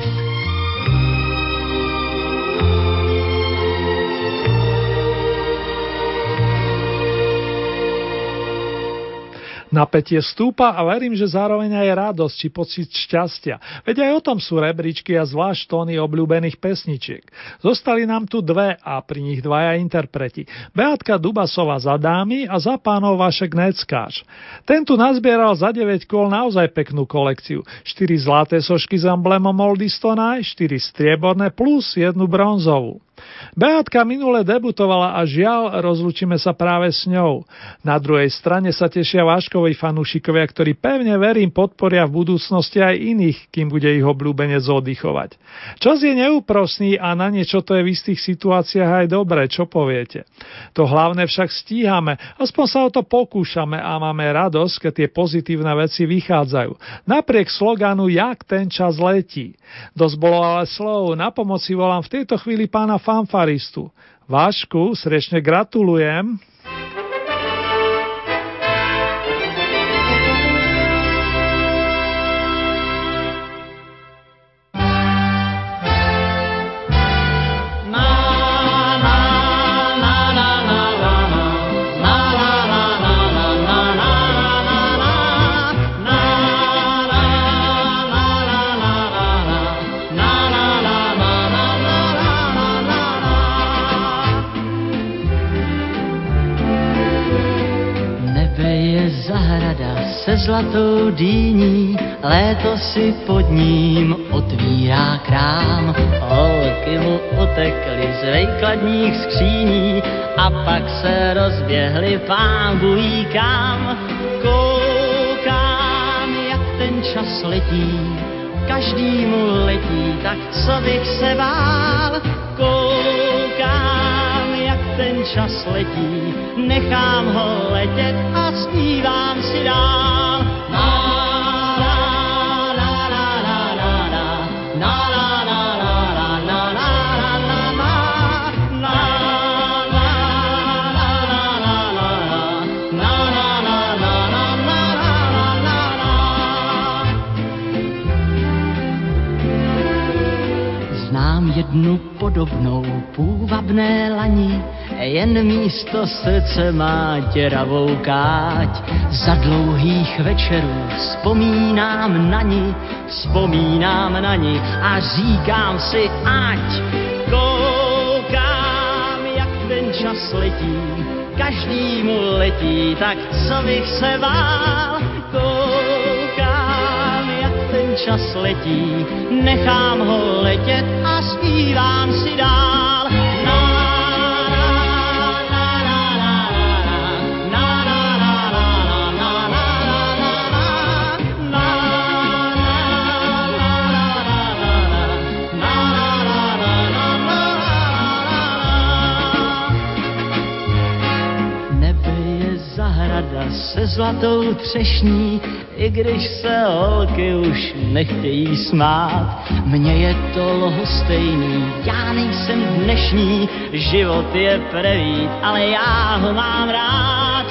Napätie stúpa a verím, že zároveň aj radosť či pocit šťastia. Veď aj o tom sú rebríčky a zvlášť tóny obľúbených pesničiek. Zostali nám tu dve a pri nich dvaja interpreti. Beatka Dubasová za dámy a za pánov Vašek Neckáš. Ten tu nazbieral za deväť kôl naozaj peknú kolekciu. štyri zlaté sošky s emblémom Oldies Tonight, štyri strieborné plus jednu bronzovú. Beatka minule debutovala a žiaľ, rozlúčime sa práve s ňou. Na druhej strane sa tešia Vaškovi fanúšikovia, ktorí pevne verím podporia v budúcnosti aj iných, kým bude ich obľúbenec oddychovať. Čas je neúprosný a na niečo to je v istých situáciách aj dobré, čo poviete. To hlavné však stíhame, aspoň sa o to pokúšame a máme radosť, keď tie pozitívne veci vychádzajú. Napriek sloganu Jak ten čas letí. Dosť bolo ale slov, na pomoci volám v tejto chvíli pána fanfaristu. Vášku, srdečne gratulujem. Se zlatou dýní, léto si pod ním otvírá krám. Holky mu utekly z vejkladních skříní a pak se rozběhly pán bují kam. Koukám, jak ten čas letí, každý mu letí, tak co bych se bál. Koukám, jak ten čas letí, nechám ho letět a zpívám si dál. dnu podobnou půvabné lani, jen místo srdce má děravou káť. Za dlouhých večerů vzpomínám na ní, vzpomínám na ní a říkám si, ať koukám, jak ten čas letí, každý mu letí, tak co bych se bál. Koukám, jak ten čas letí, nechám ho letět a zpívám si dál. Se zlatou třešní, i když se holky už nechtějí smát. Mně je to lhostejný, já nejsem dnešní, život je prevít, ale já ho mám rád.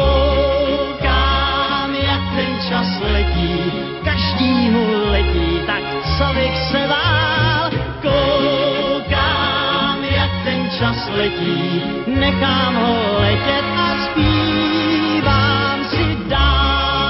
Koukám, jak ten čas letí, každý mu letí, tak co bych se bál. Koukám, jak ten čas letí, nechám ho letět a zpívám si dál.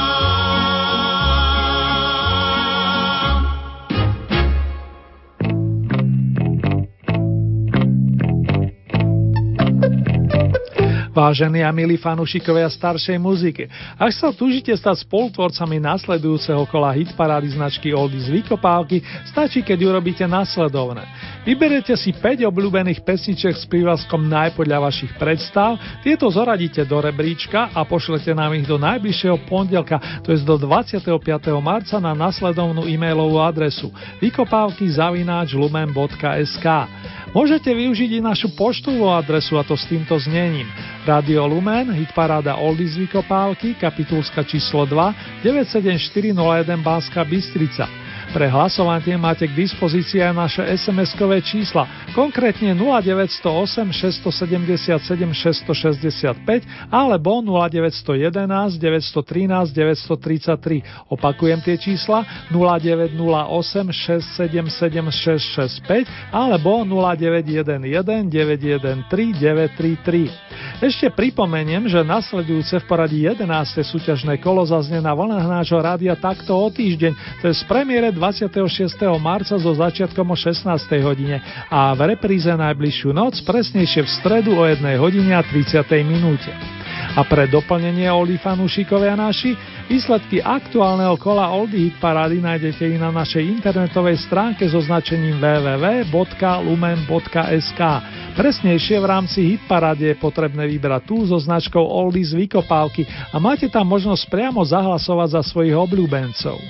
Vážení a milí fanúšikovia staršej muziky, ak sa túžite stať spolutvorcami nasledujúceho kola hitparády značky Oldies Vykopávky, stačí, keď urobíte nasledovné. Vyberete si päť obľúbených pesničiek s prívlaskom Naj podľa vašich predstav, tieto zoradíte do rebríčka a pošlete nám ich do najbližšieho pondelka, to je do dvadsiateho piateho marca na nasledovnú e-mailovú adresu vykopávky zavináč lumen bodka es ká. Môžete využiť i našu poštovú adresu, a to s týmto znením: Radio Lumen, hitparáda Oldies Vykopávky, kapitulska číslo dva, deväť sedem štyri nula jeden Banská Bystrica. Pre hlasovanie máte k dispozícii aj naše es em eskové čísla, konkrétne nula deväť nula osem šesť sedem sedem šesť šesť päť alebo nula deväť jeden jedna deväť jedna tri deväť tri tri. Opakujem tie čísla: nula deväť nula osem šesť sedem sedem šesť šesť päť alebo nula deväť jeden jeden deväť jeden tri deväť tri tri. Ešte pripomeniem, že nasledujúce v poradí jedenáste súťažné kolo zaznie na vlnách nášho rádia takto o týždeň, to je z premiére dvadsiateho šiesteho marca so začiatkom o šestnástej hodine a v repríze najbližšiu noc, presnejšie v stredu o jednej hodine a tridsiatej minúte. A pre doplnenie Oldie fanúšikovia naši, výsledky aktuálneho kola Oldie hitparády nájdete i na našej internetovej stránke so značením w w w bodka lumen bodka es ká. Presnejšie v rámci hitparády je potrebné vybrať tú so značkou Oldies Vykopávky a máte tam možnosť priamo zahlasovať za svojich obľúbencov.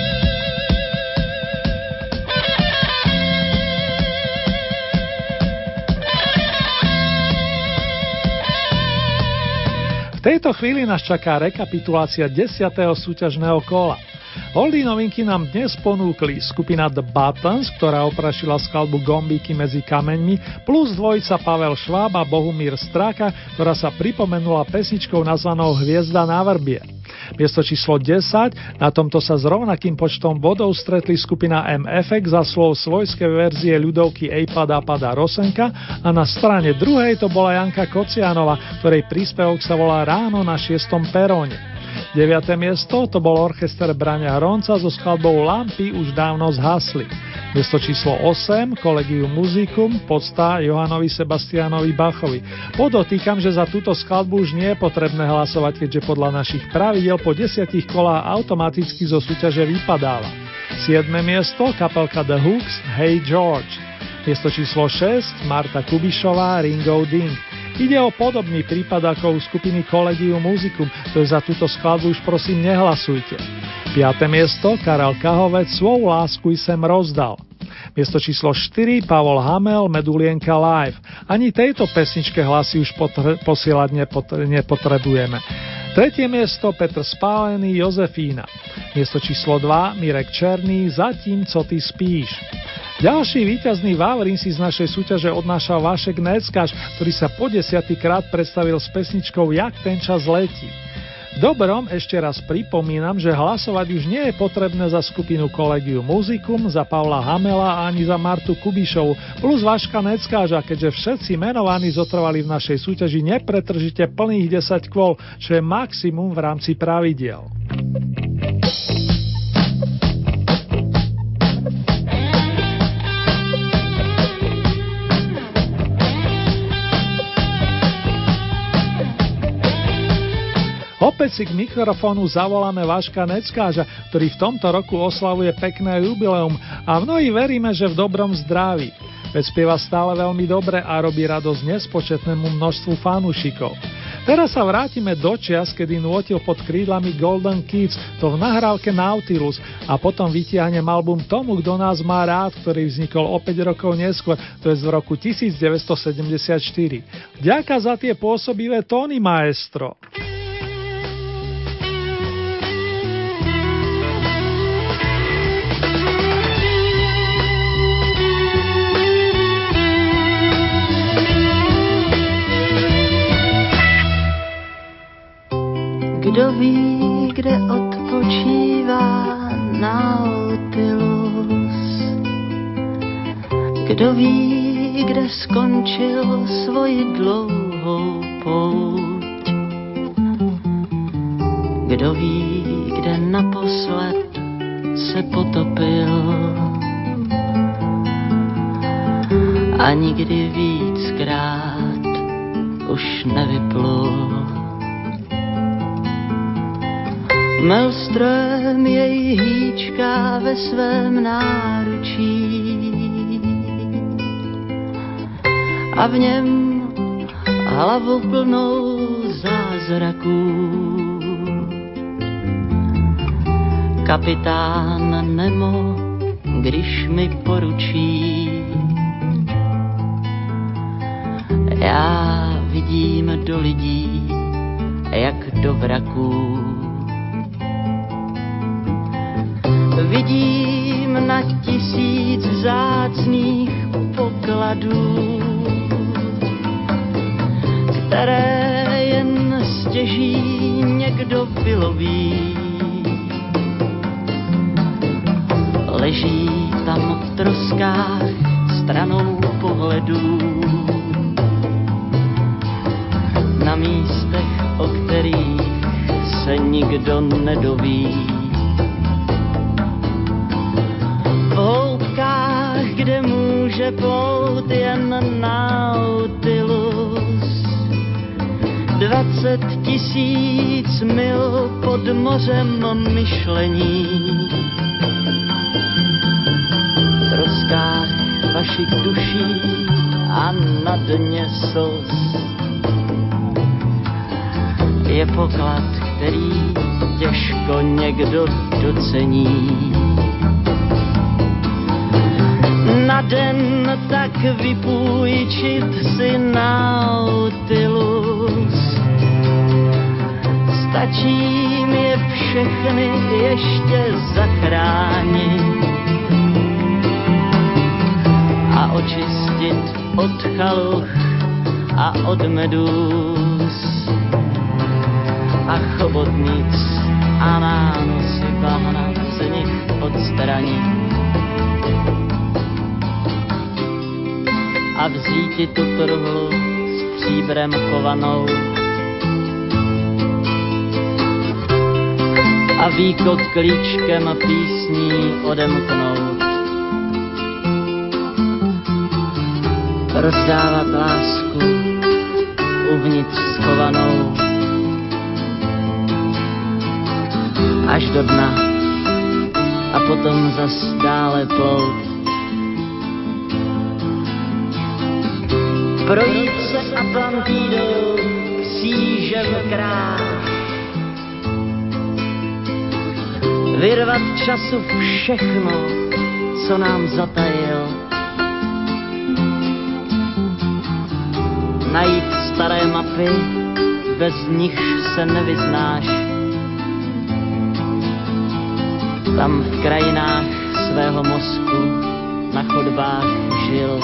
V tejto chvíli nás čaká rekapitulácia desiateho súťažného kola. Oldie novinky nám dnes ponúkli skupina The Buttons, ktorá oprašila skladbu Gombíky medzi kameňmi, plus dvojica Pavel Šváb a Bohumír Stráka, ktorá sa pripomenula pesničkou nazvanou Hviezda na vrbie. Miesto číslo desať, na tomto sa s rovnakým počtom bodov stretli skupina em ef iks za slov svojskej verzie ľudovky Ej padá padá Rosenka a na strane druhej to bola Janka Kocianova, ktorej príspevok sa volá Ráno na šiestom peróne. deviate miesto to bol orchester Braňa Hronca so skladbou Lampy už dávno zhasli. Miesto číslo osem, Collegium Musicum, podsta Johanovi Sebastianovi Bachovi. Podotýkam, že za túto skladbu už nie je potrebné hlasovať, keďže podľa našich pravidiel po desiatich kolách automaticky zo súťaže vypadáva. siedme miesto, kapelka The Hooks, Hey George. Miesto číslo šesť, Marta Kubišová, Ringo Ding. Ide o podobný prípad ako u skupiny Collegium Musicum, to je za túto skladbu už prosím nehlasujte. piate miesto, Karel Kahovec, Svou lásku sem rozdal. Miesto číslo štyri, Pavol Hamel, Medulienka Live. Ani tejto pesničke hlasy už potre- posielať nepotre- nepotrebujeme. Tretie miesto, Petr Spálený, Jozefína. Miesto číslo dva, Mirek Černý, Zatím, co ty spíš. Ďalší víťazný Vavrín si z našej súťaže odnášal Vašek Neckáš, ktorý sa po desiatý krát predstavil s pesničkou Jak ten čas letí. Dobrom ešte raz pripomínam, že hlasovať už nie je potrebné za skupinu Collegium Musicum, za Pavla Hamela ani za Martu Kubišovu, plus Vaška Neckáža, keďže všetci menovaní zotrvali v našej súťaži nepretržite plných desať kôl, čo je maximum v rámci pravidiel. Opäť si k mikrofónu zavoláme Vaška Neckáža, ktorý v tomto roku oslavuje pekné jubileum a mnohí veríme, že v dobrom zdraví. Veď spieva stále veľmi dobre a robí radosť nespočetnému množstvu fanúšikov. Teraz sa vrátime do čias, kedy nôtil pod krídlami Golden Kids, to v nahrávke Nautilus, a potom vytiahnem album Tomu, kto nás má rád, ktorý vznikol o päť rokov neskôr, to je z roku devätnásťsedemdesiatštyri. Ďaká za tie pôsobivé tóny, maestro. Kdo ví, kde odpočívá Nautilus? Kdo ví, kde skončil svoji dlouhou pouť? Kdo ví, kde naposled se potopil? A nikdy víckrát už nevyplul. Maelström jej hýčká ve svém náručí a v něm hlavu plnou zázraků. Kapitán Nemo, když mi poručí, já vidím do lidí, jak do vraků. Vidím na tisíc vzácných pokladů, které jen stěží někdo vyloví. Leží tam v troskách stranou pohledů, na místech, o kterých se nikdo nedoví. V hloubkách, kde může plout jen Nautilus, dvacet tisíc mil pod mořem myšlení. V troskách vašich duší a na dně slz je poklad, který těžko někdo docení. Na den tak vypůjčit si Nautilus, stačí mi je všechny ještě zachránit a očistit od chaluch a od medúz a chobotnic a nánosy bahna z nich odstranit. A vzíti tu truhlu s příbrem kovanou a výkot klíčkem písní odemknout. Rozdávat lásku uvnitř schovanou až do dna a potom zas dále plout. Projít se Atlantidou křížem kráž, vyrvat času všechno, co nám zatajil, najít staré mapy, bez nich se nevyznáš, tam v krajinách svého mozku na chodbách žil.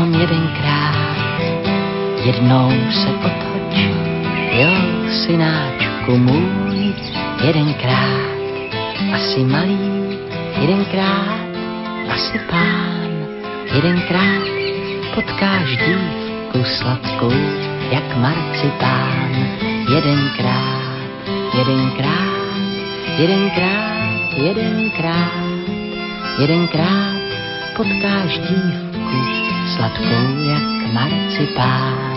jenom jedenkrát, jednou se otoč, jo, synáčku můj, jedenkrát, asi malý, jedenkrát, asi pán, jedenkrát, potkáš dívku sladkou, jak marcipán, jedenkrát, jedenkrát, jedenkrát, jedenkrát, jedenkrát, potkáš dívku sladkou, jak marcipán.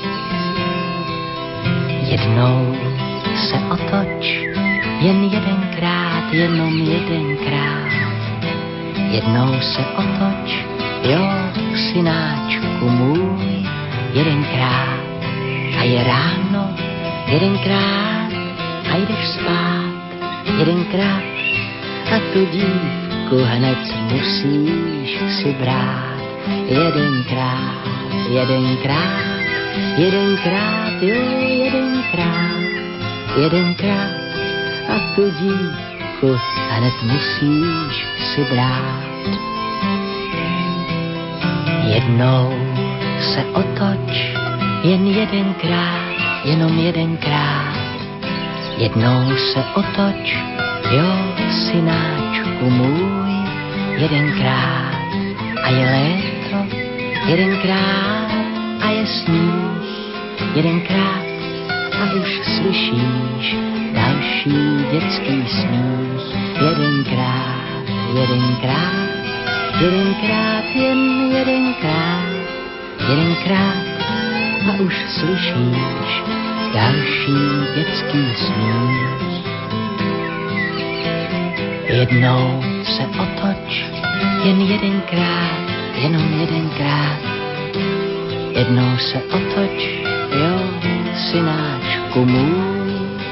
Jednou se otoč, jen jedenkrát, jenom jedenkrát, jednou se otoč, jo, synáčku můj, jedenkrát, a je ráno, jedenkrát, a jdeš spát, jedenkrát, a tu dívku hned musíš si brát, jedenkrát, jedenkrát, jedenkrát, jo, jedenkrát, jedenkrát, a tu dívku hned musíš si brát. Jednou se otoč, jen jedenkrát, jenom jedenkrát, jednou se otoč, jo, synáčku můj, jedenkrát, a je léto, jedenkrát, a je sníh, jedenkrát, a už slyšíš další dětský smích, jedenkrát, jedenkrát, jedenkrát, jen jedenkrát, jedenkrát, a už slyšíš další dětský smích. Jednou se otoč, jen jedenkrát, jenom jedenkrát, jednou se otoč, jo, synáčku můj.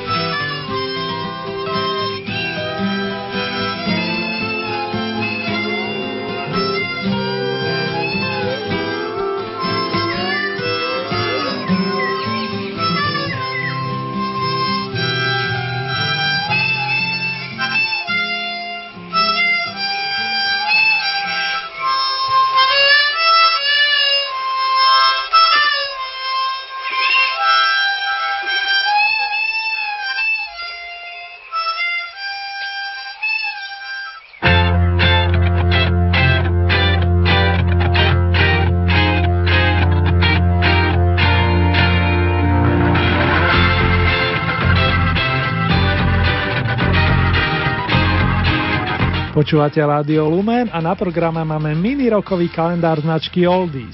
Počúvate Rádio Lumen a na programe máme mini rokový kalendár značky Oldies.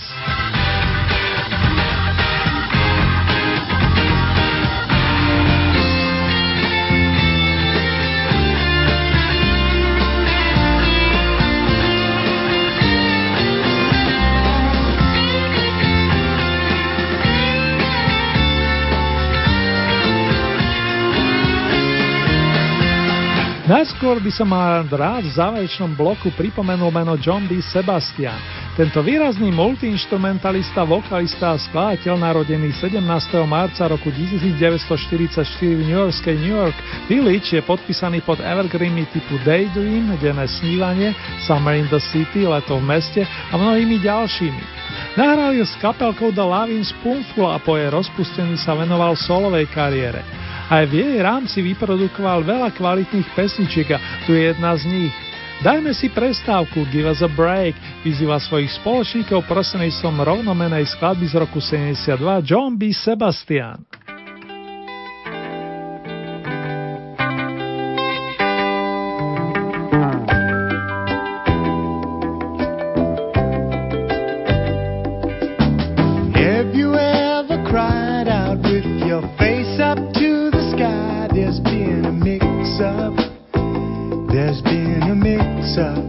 Najskôr by som mal rád v záverečnom bloku pripomenul meno John B. Sebastian. Tento výrazný multiinstrumentalista, vokalista a skladateľ narodený sedemnásteho marca roku devätnásťstoštyridsaťštyri v newyorskej New York Village je podpísaný pod evergreenmi typu Daydream, denné snívanie, Summer in the City, leto v meste a mnohými ďalšími. Nahral ju s kapelkou The Lovin' Spoonful a po jej rozpustení sa venoval solovej kariére. Aj v jej rámci vyprodukoval veľa kvalitných pesničiek a tu je jedna z nich. Dajme si prestávku, Give us a break, vyzýva svojich spoločníkov prostredníctvom rovnomenej skladby z roku sedemdesiatdva John B. Sebastian. Have you ever cried out with your face up to the sky? There's been a mix-up. There's been a mix-up.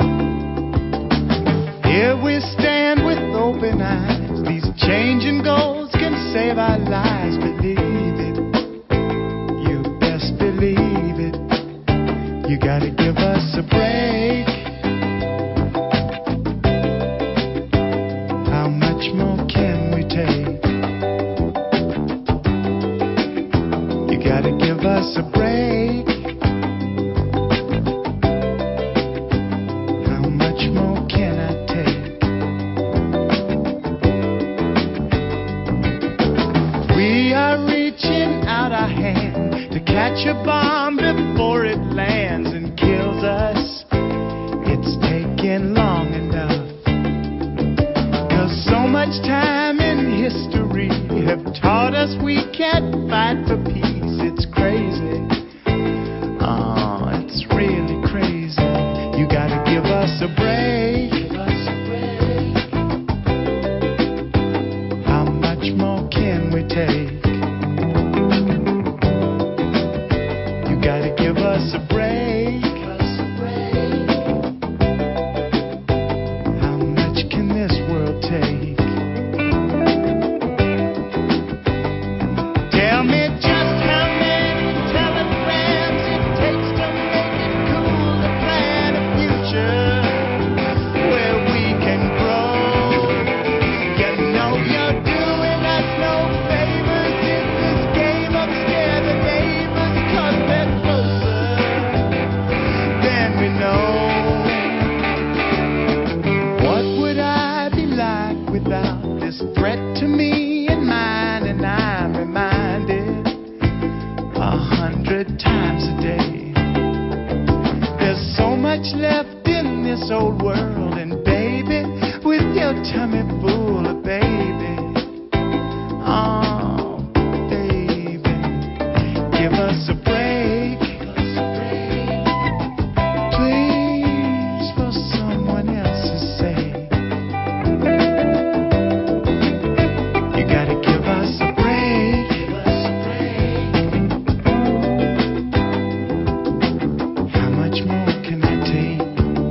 Here we stand with open eyes. These changing goals can save our lives. Believe it. You best believe it. You gotta give us a break. How much more can we take? You gotta give us a break. How much more can I take? catch a bomb before it lands and kills us. It's taken long enough. 'Cause so much time in history have taught us we can't fight for peace. It's crazy. Oh, it's really crazy. You gotta give us a break. How much more can we take? You gotta give us a break. How much can this world take? Tell me just how many telegrams it takes to make it cool to plan a future where we can grow. You know you're doing us no favors in this game of scare the neighbors 'cause they're closer than we know. What would I be like without this threat to me and mine? And I'm reminded a hundred times a day. There's so much left in this old world, and baby, with your tummy full of baby, oh baby, give us a break, please, for someone else's sake. You gotta give us a break. How much more can I take?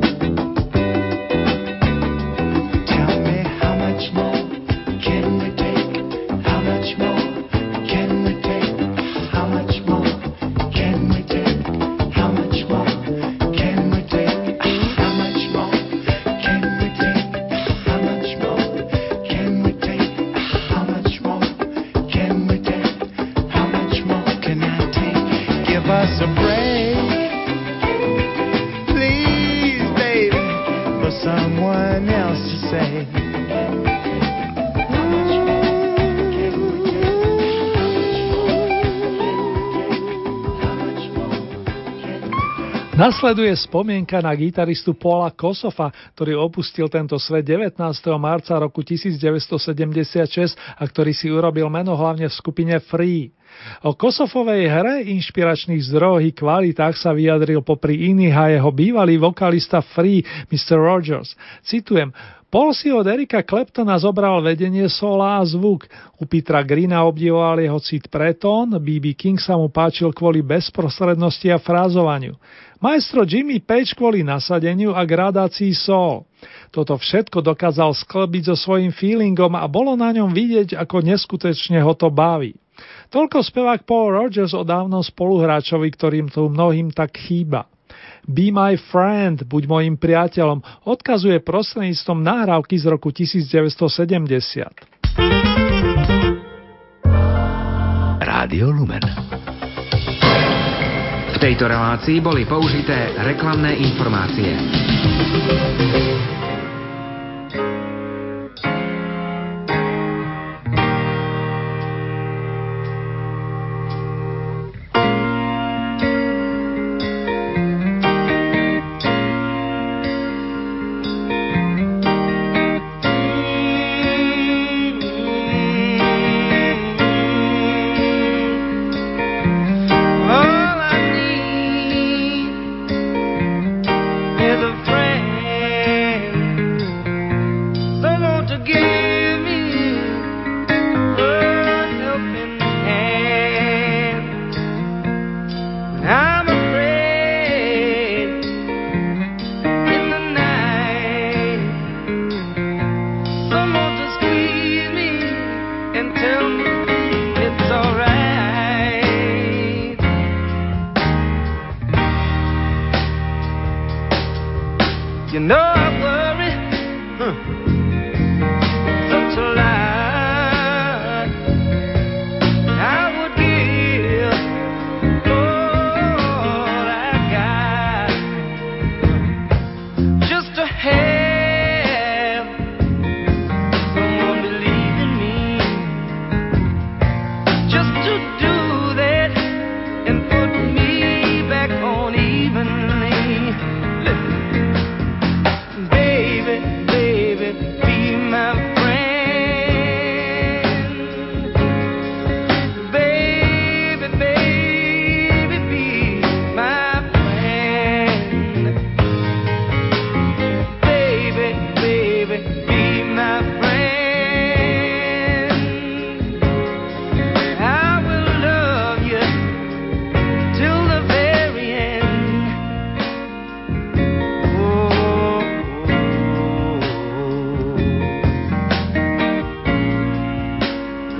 Tell me how much more can we take? How much more can we take? How much more can we take? How much more can we take? How much more can we take? How much more can we take? How much more can we take? How much more can I take? Give us a break, please, baby, for someone else to say. Nasleduje spomienka na gitaristu Paula Kossofa, ktorý opustil tento svet devätnásteho marca roku devätnásťsedemdesiatšesť a ktorý si urobil meno hlavne v skupine Free. O Kossofovej hre, inšpiračných zdrojoch i kvalitách sa vyjadril popri iných a jeho bývalý vokalista Free, mister Rogers. Citujem: Paul si od Erika Claptona zobral vedenie sola a zvuk. U Petera Greena obdivoval jeho cit pre tón, bé bé King sa mu páčil kvôli bezprostrednosti a frázovaniu. Maestro Jimmy Page kvôli nasadeniu a gradácii soul. Toto všetko dokázal sklbiť so svojím feelingom a bolo na ňom vidieť, ako neskutočne ho to baví. Toľko spevák Paul Rogers o dávnom spoluhráčovi, ktorým tu mnohým tak chýba. Be my friend, buď mojim priateľom, odkazuje prostredníctvom nahrávky z roku devätnásťsedemdesiat. Rádio Lumen. V tejto relácii boli použité reklamné informácie. And put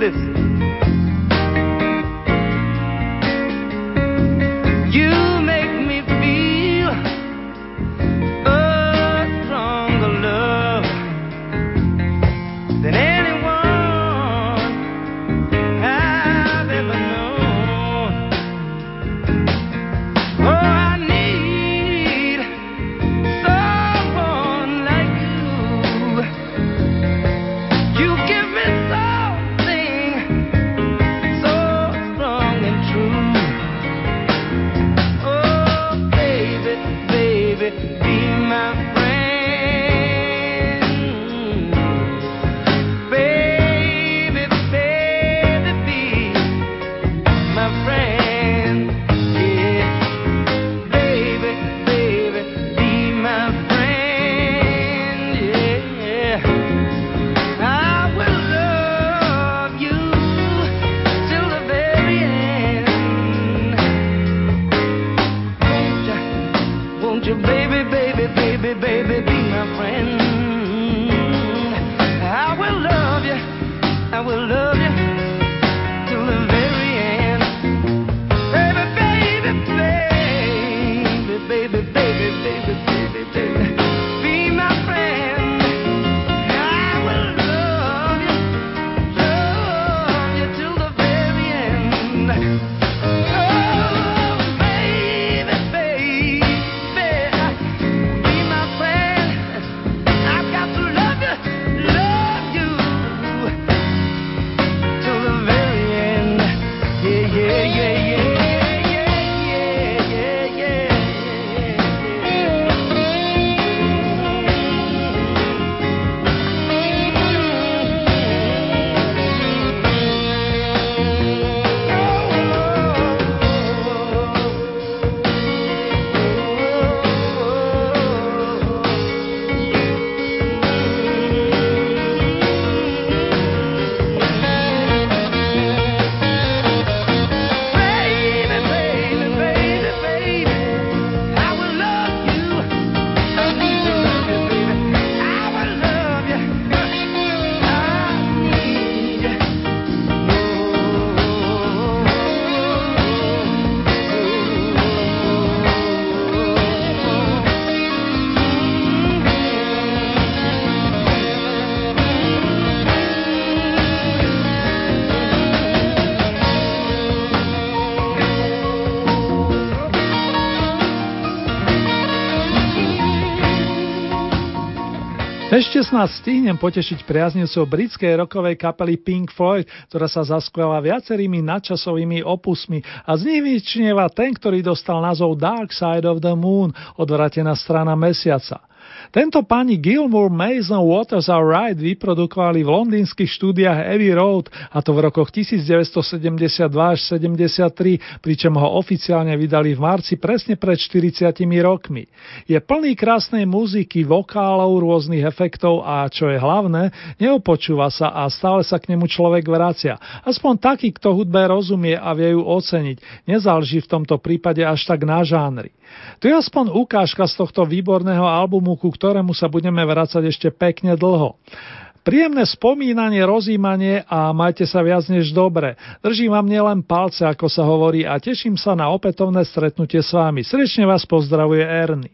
Listen. You make me feel a stronger love than anyone I've ever known. Oh, I need someone like you. You give me something so strong and true. Oh, baby, baby, be my friend. Baby, baby, be my friend. Yeah. Baby, baby, be my friend. Yeah. I will love you till the very end. Won't you, won't you, baby, baby, baby, baby, be my friend? I will love you, I will love you till the very end. Baby, baby, baby, baby, baby, baby, baby, baby, be my friend. I will love you, love you till the very end. Oh, baby, baby, be my friend. I've got to love you, love you till the very end. Yeah, yeah, yeah, yeah, yeah, yeah, yeah, Baby, baby, baby, baby, I will love you. I need to love you, baby. I will love you. I need you. Ešte snad stihnem potešiť priaznivcov britskej rockovej kapely Pink Floyd, ktorá sa zaskvelá viacerými nadčasovými opusmi a z nich vyčnieva ten, ktorý dostal názov Dark Side of the Moon, odvrátená strana mesiaca. Tento pani Gilmour, Mason, Waters a Wright vyprodukovali v londýnskych štúdiách Abbey Road, a to v rokoch devätnásťsedemdesiatdva až sedemdesiattri, pričom ho oficiálne vydali v marci presne pred štyridsiatimi rokmi. Je plný krásnej muziky, vokálov, rôznych efektov a, čo je hlavné, neopočúva sa a stále sa k nemu človek vracia. Aspoň taký, kto hudbe rozumie a vie ju oceniť. Nezáleží v tomto prípade až tak na žánri. Tu je aspoň ukážka z tohto výborného albumu, ku ktorému sa budeme vracať ešte pekne dlho. Príjemné spomínanie, rozímanie a majte sa viac než dobre. Držím vám nielen palce, ako sa hovorí, a teším sa na opätovné stretnutie s vami. Srdečne vás pozdravuje Ernie.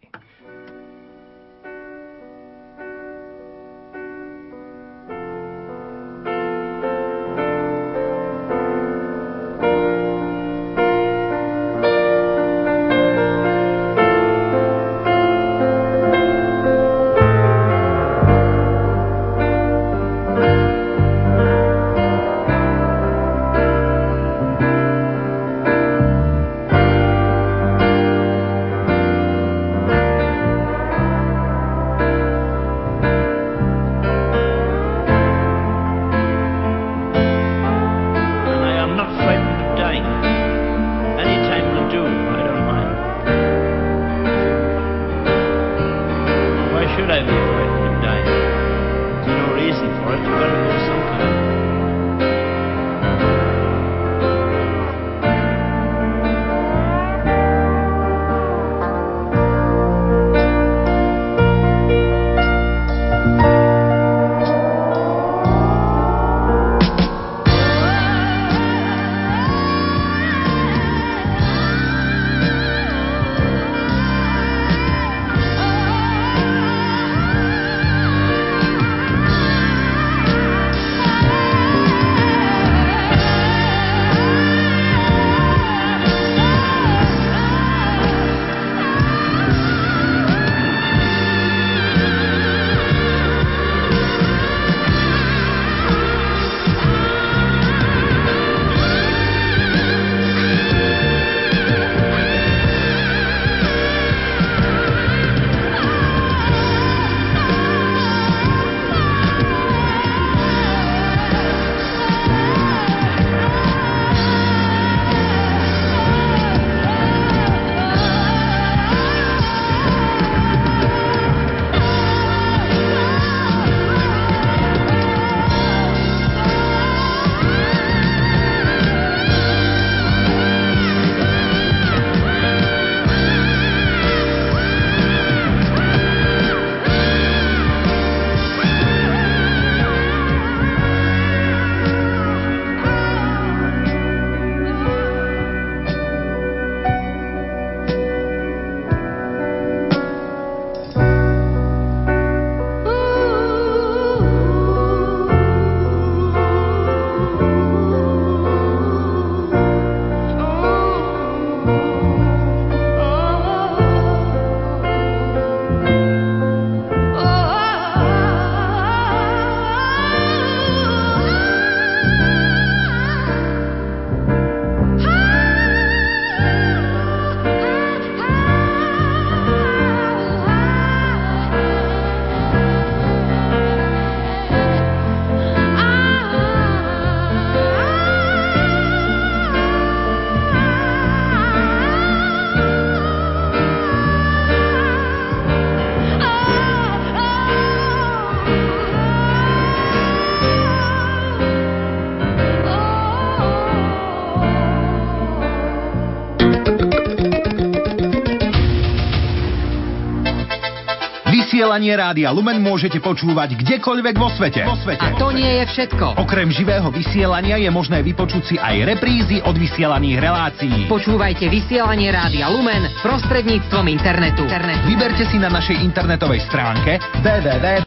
Vysielanie Rádia Lumen môžete počúvať kdekoľvek vo svete. Vo svete. A to nie je všetko. Okrem živého vysielania je možné vypočuť si aj reprízy od vysielaných relácií. Počúvajte vysielanie Rádia Lumen prostredníctvom internetu. Vyberte si na našej internetovej stránke w w w